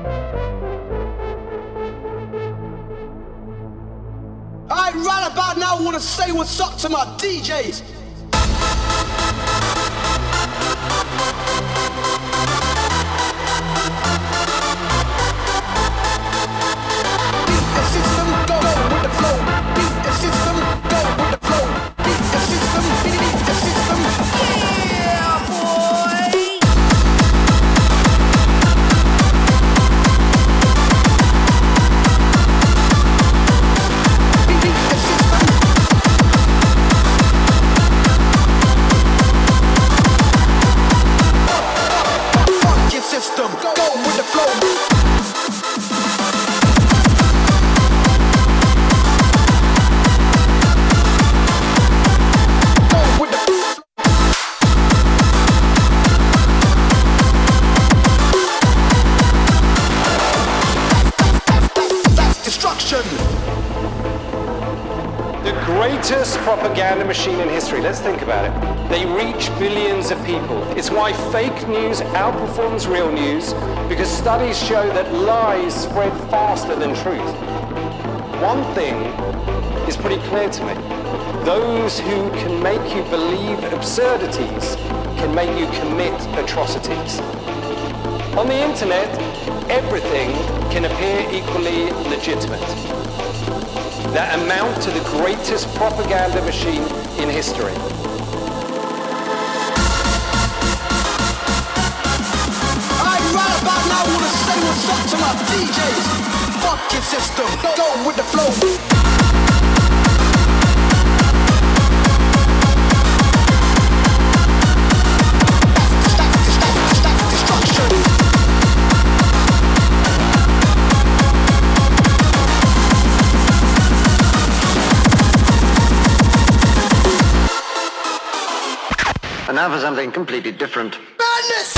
Speaker 11: Right about now, I wanna say what's up to my DJs. Beat the system, go with the flow. Beat the system, go with the flow. Beat the system, beat the system. Yeah, boy. System, go with the flow. Go with the that's destruction.
Speaker 20: The greatest propaganda machine in history, let's think about it. They reach billions of people. It's why fake news outperforms real news, because studies show that lies spread faster than truth. One thing is pretty clear to me. Those who can make you believe absurdities can make you commit atrocities. On the internet, everything can appear equally legitimate. That amount to the greatest propaganda machine in history.
Speaker 11: Right about now, I wanna say what's up to my DJs. Fuck your system, go with the flow. That's destruction.
Speaker 10: And now for something completely different.
Speaker 11: Madness!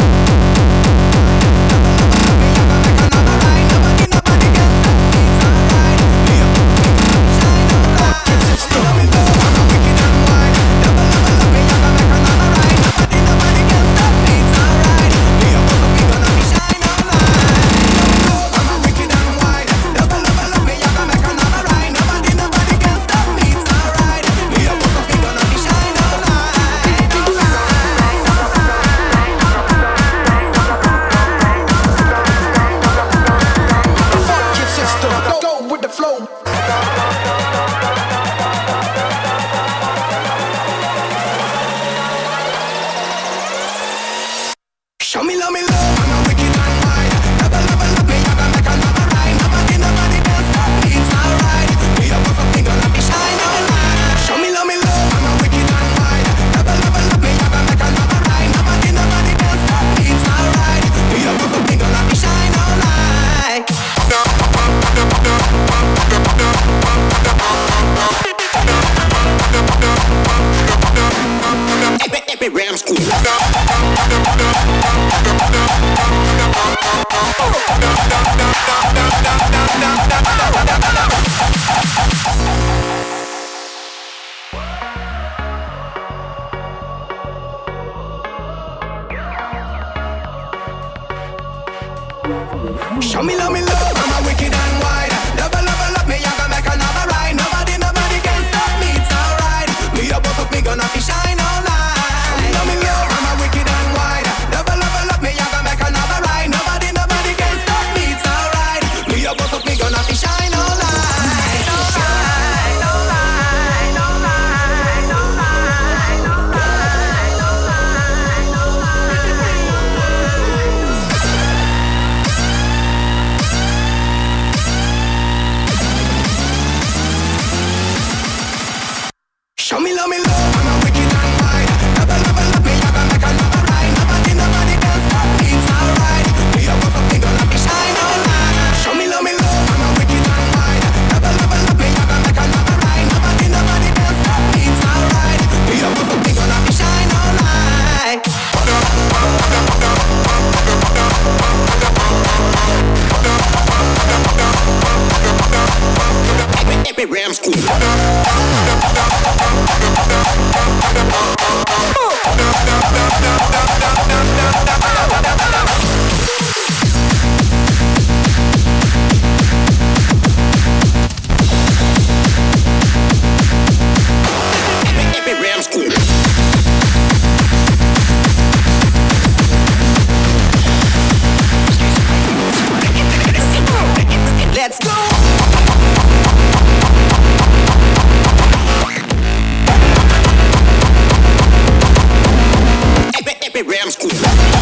Speaker 5: Show me love, I'm a wicked and wide. Love, me, I gonna make another ride. Nobody can stop me, it's alright. Me a boss up, me gonna be shine all night. Show me love, I'm a wicked and wide. Love, me, I gonna make another ride. Nobody can stop me, it's alright. Me a boss up, me gonna be shine all night. Show me love, I'm a wicked and
Speaker 11: Let's go! Rams cool.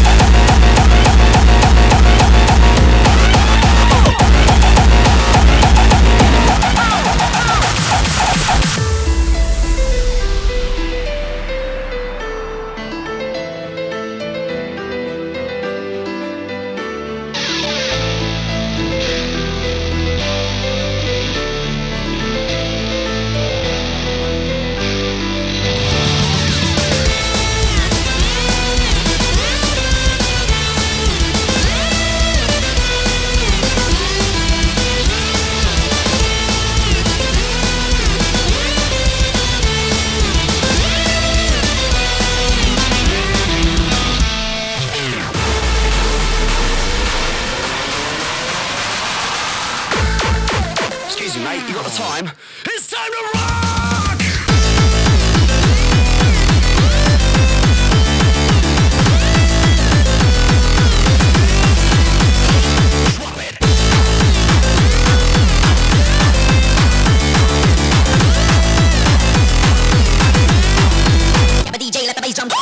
Speaker 3: Mate, you got the time? It's time to rock! Drop it! Let the DJ, let the bass jump.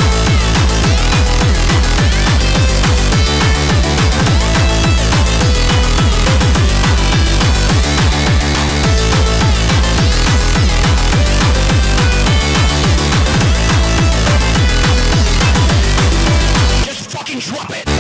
Speaker 3: Drop it!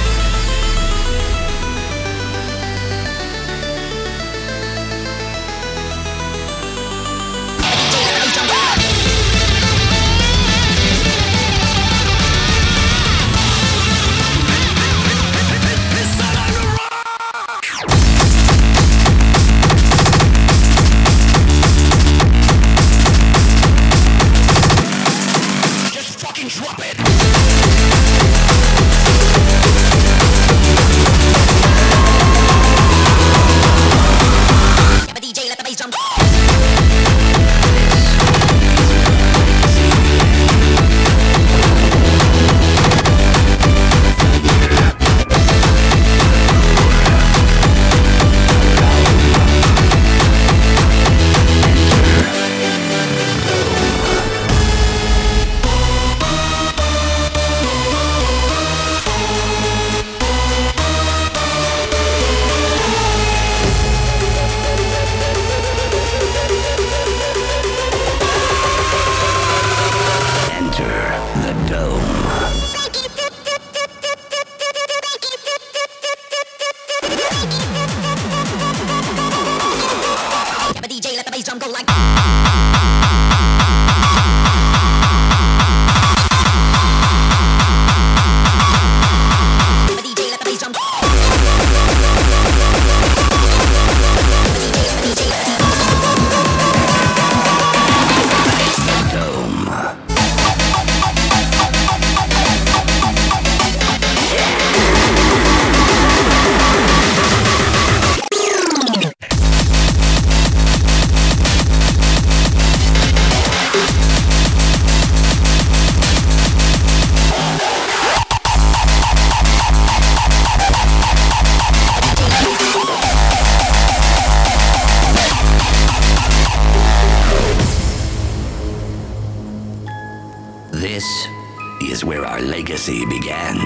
Speaker 3: Just fucking drop it!
Speaker 21: This is where our legacy began.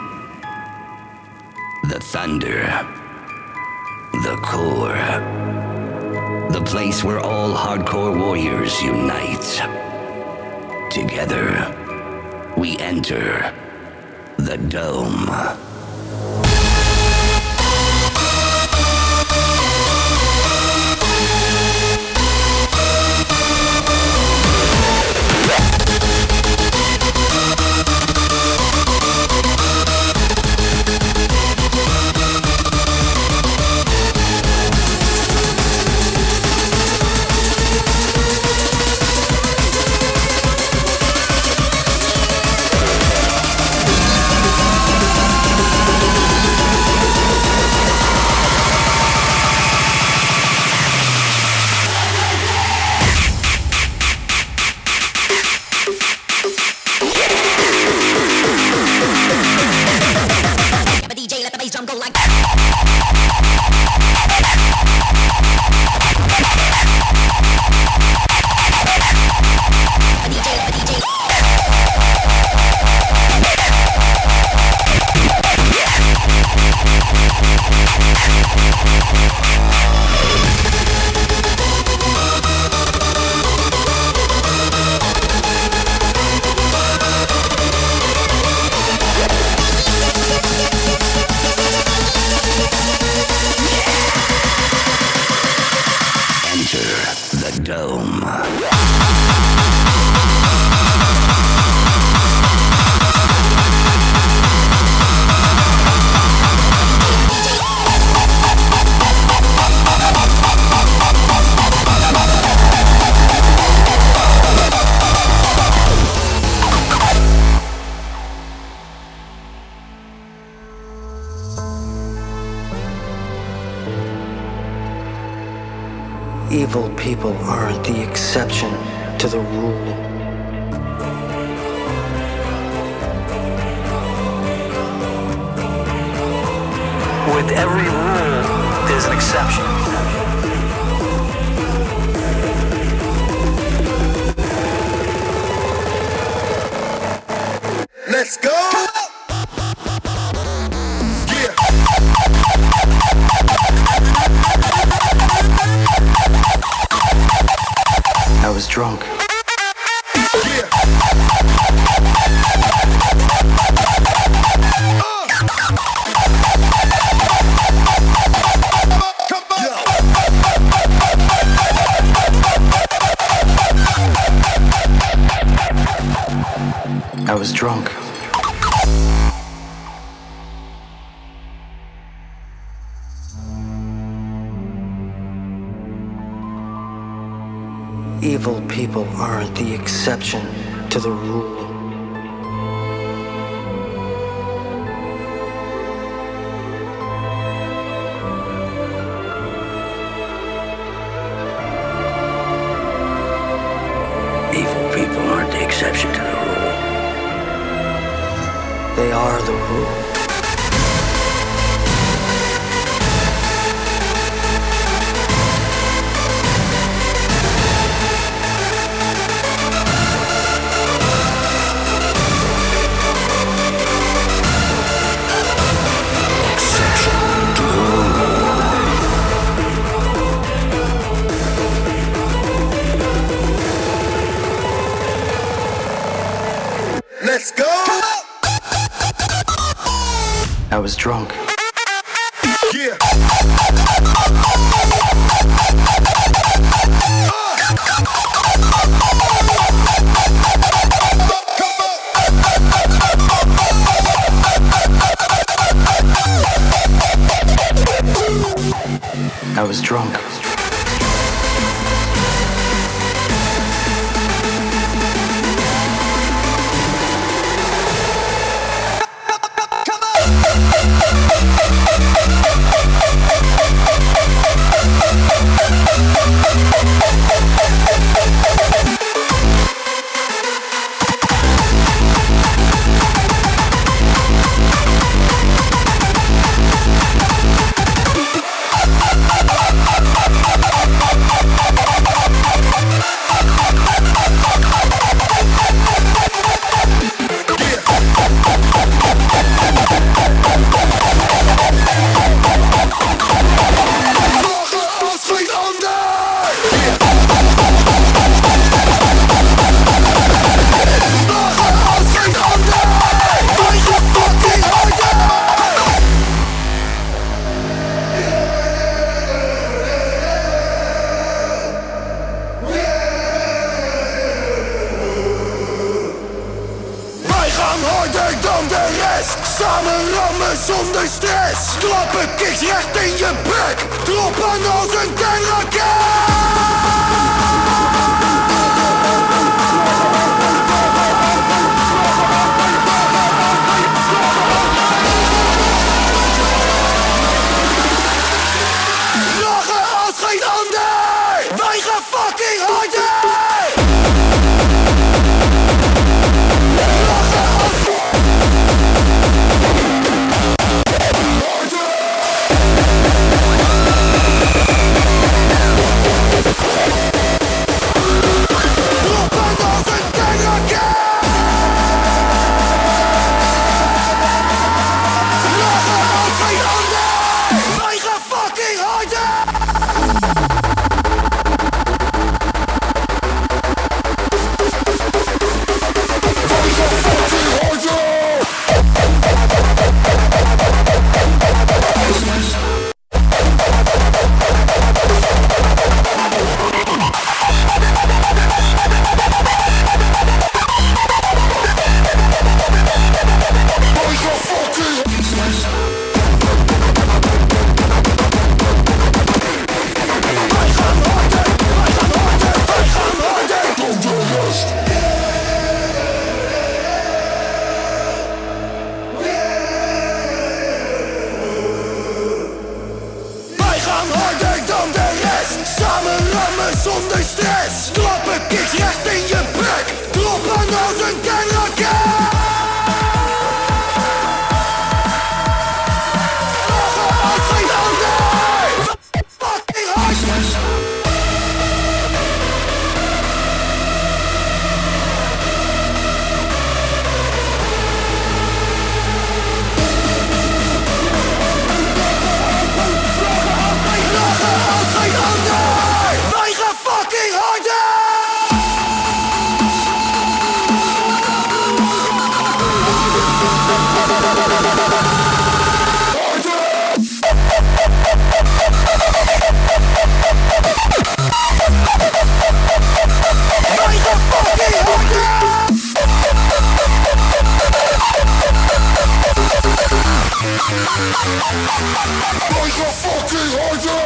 Speaker 21: The Thunder. The Core. The place where all hardcore warriors unite. Together, we enter the Dome.
Speaker 4: Evil people are the exception to the rule.
Speaker 22: With every rule, there's an exception.
Speaker 14: Let's go! Yeah!
Speaker 4: I was drunk.
Speaker 14: Yeah!
Speaker 4: I was drunk. Evil people are the exception to the rule.
Speaker 21: Evil people aren't the exception to the rule.
Speaker 4: They are the rule.
Speaker 14: Let's go!
Speaker 4: I was drunk.
Speaker 14: Yeah!
Speaker 4: I was drunk.
Speaker 14: Samen rammen zonder stress. Klappen kicks recht in je bek. Droppen als een lachen als geen ander. Wij gaan fucking harder. zonder stress. Klappen kicks recht in je bek. Droppen als een kernraket. Lachen als geen ander. Fucking hard. Wij gaan fucking harder! Wij gaan fucking harder! Wij gaan fucking harder!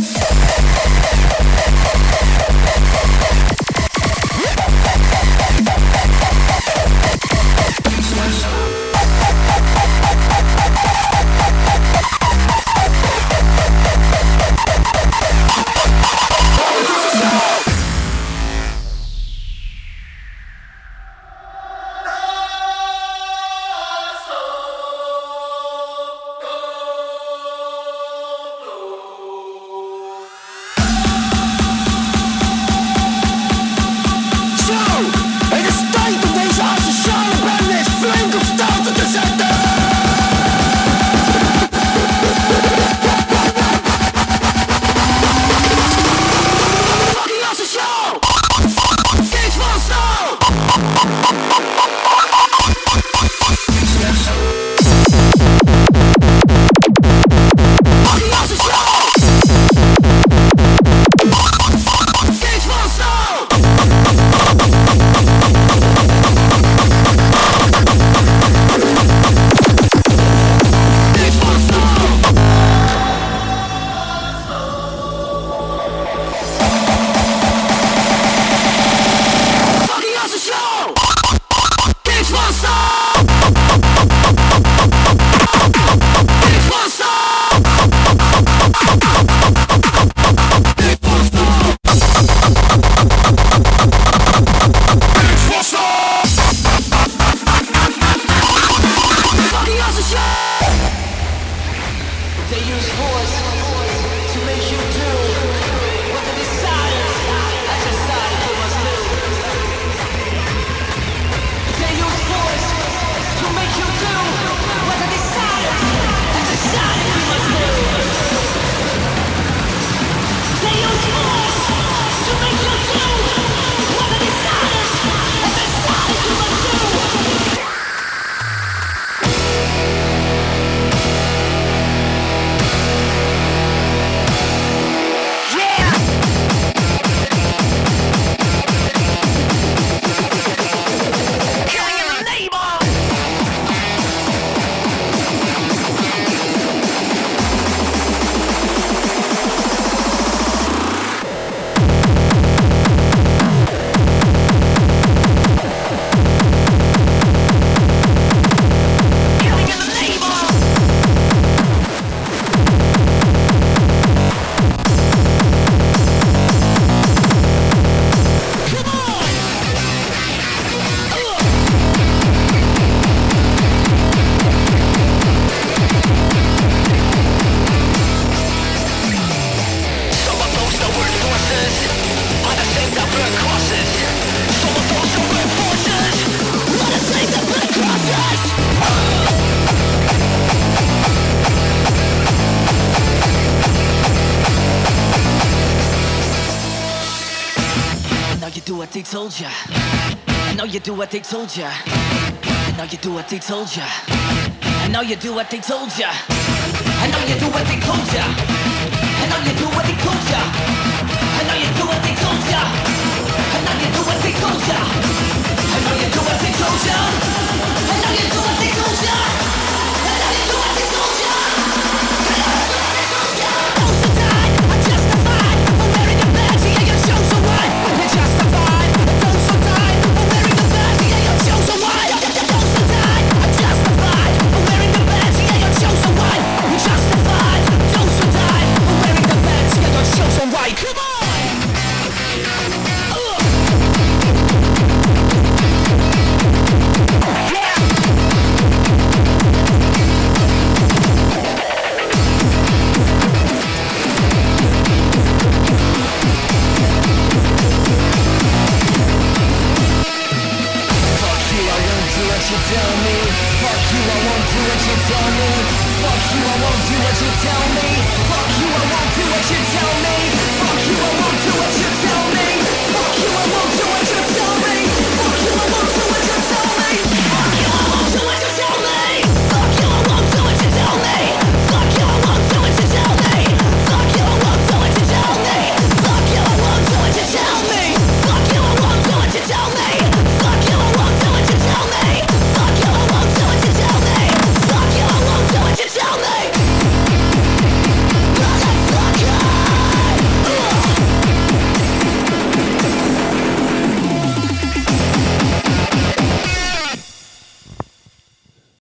Speaker 5: what they told ya. I know you do what they told ya. I know you do what they told ya. I know you do what they told ya. I know you do what they told ya. I know you do what they told ya. I know you do what they told ya. I know you do what they told ya. I know you do what they told ya. I know you do what they told ya. I know you do what they told ya. I know you do what they told ya. Those who died are justified for wearing a badge. Yeah, you chose a one. You're justified. Those who died for wearing a badge. Yeah, you chose a one. Those who died are justified for wearing a badge. Yeah, you chose a one. You're justified. Those who died. tell me. Fuck you, I won't do what you tell me.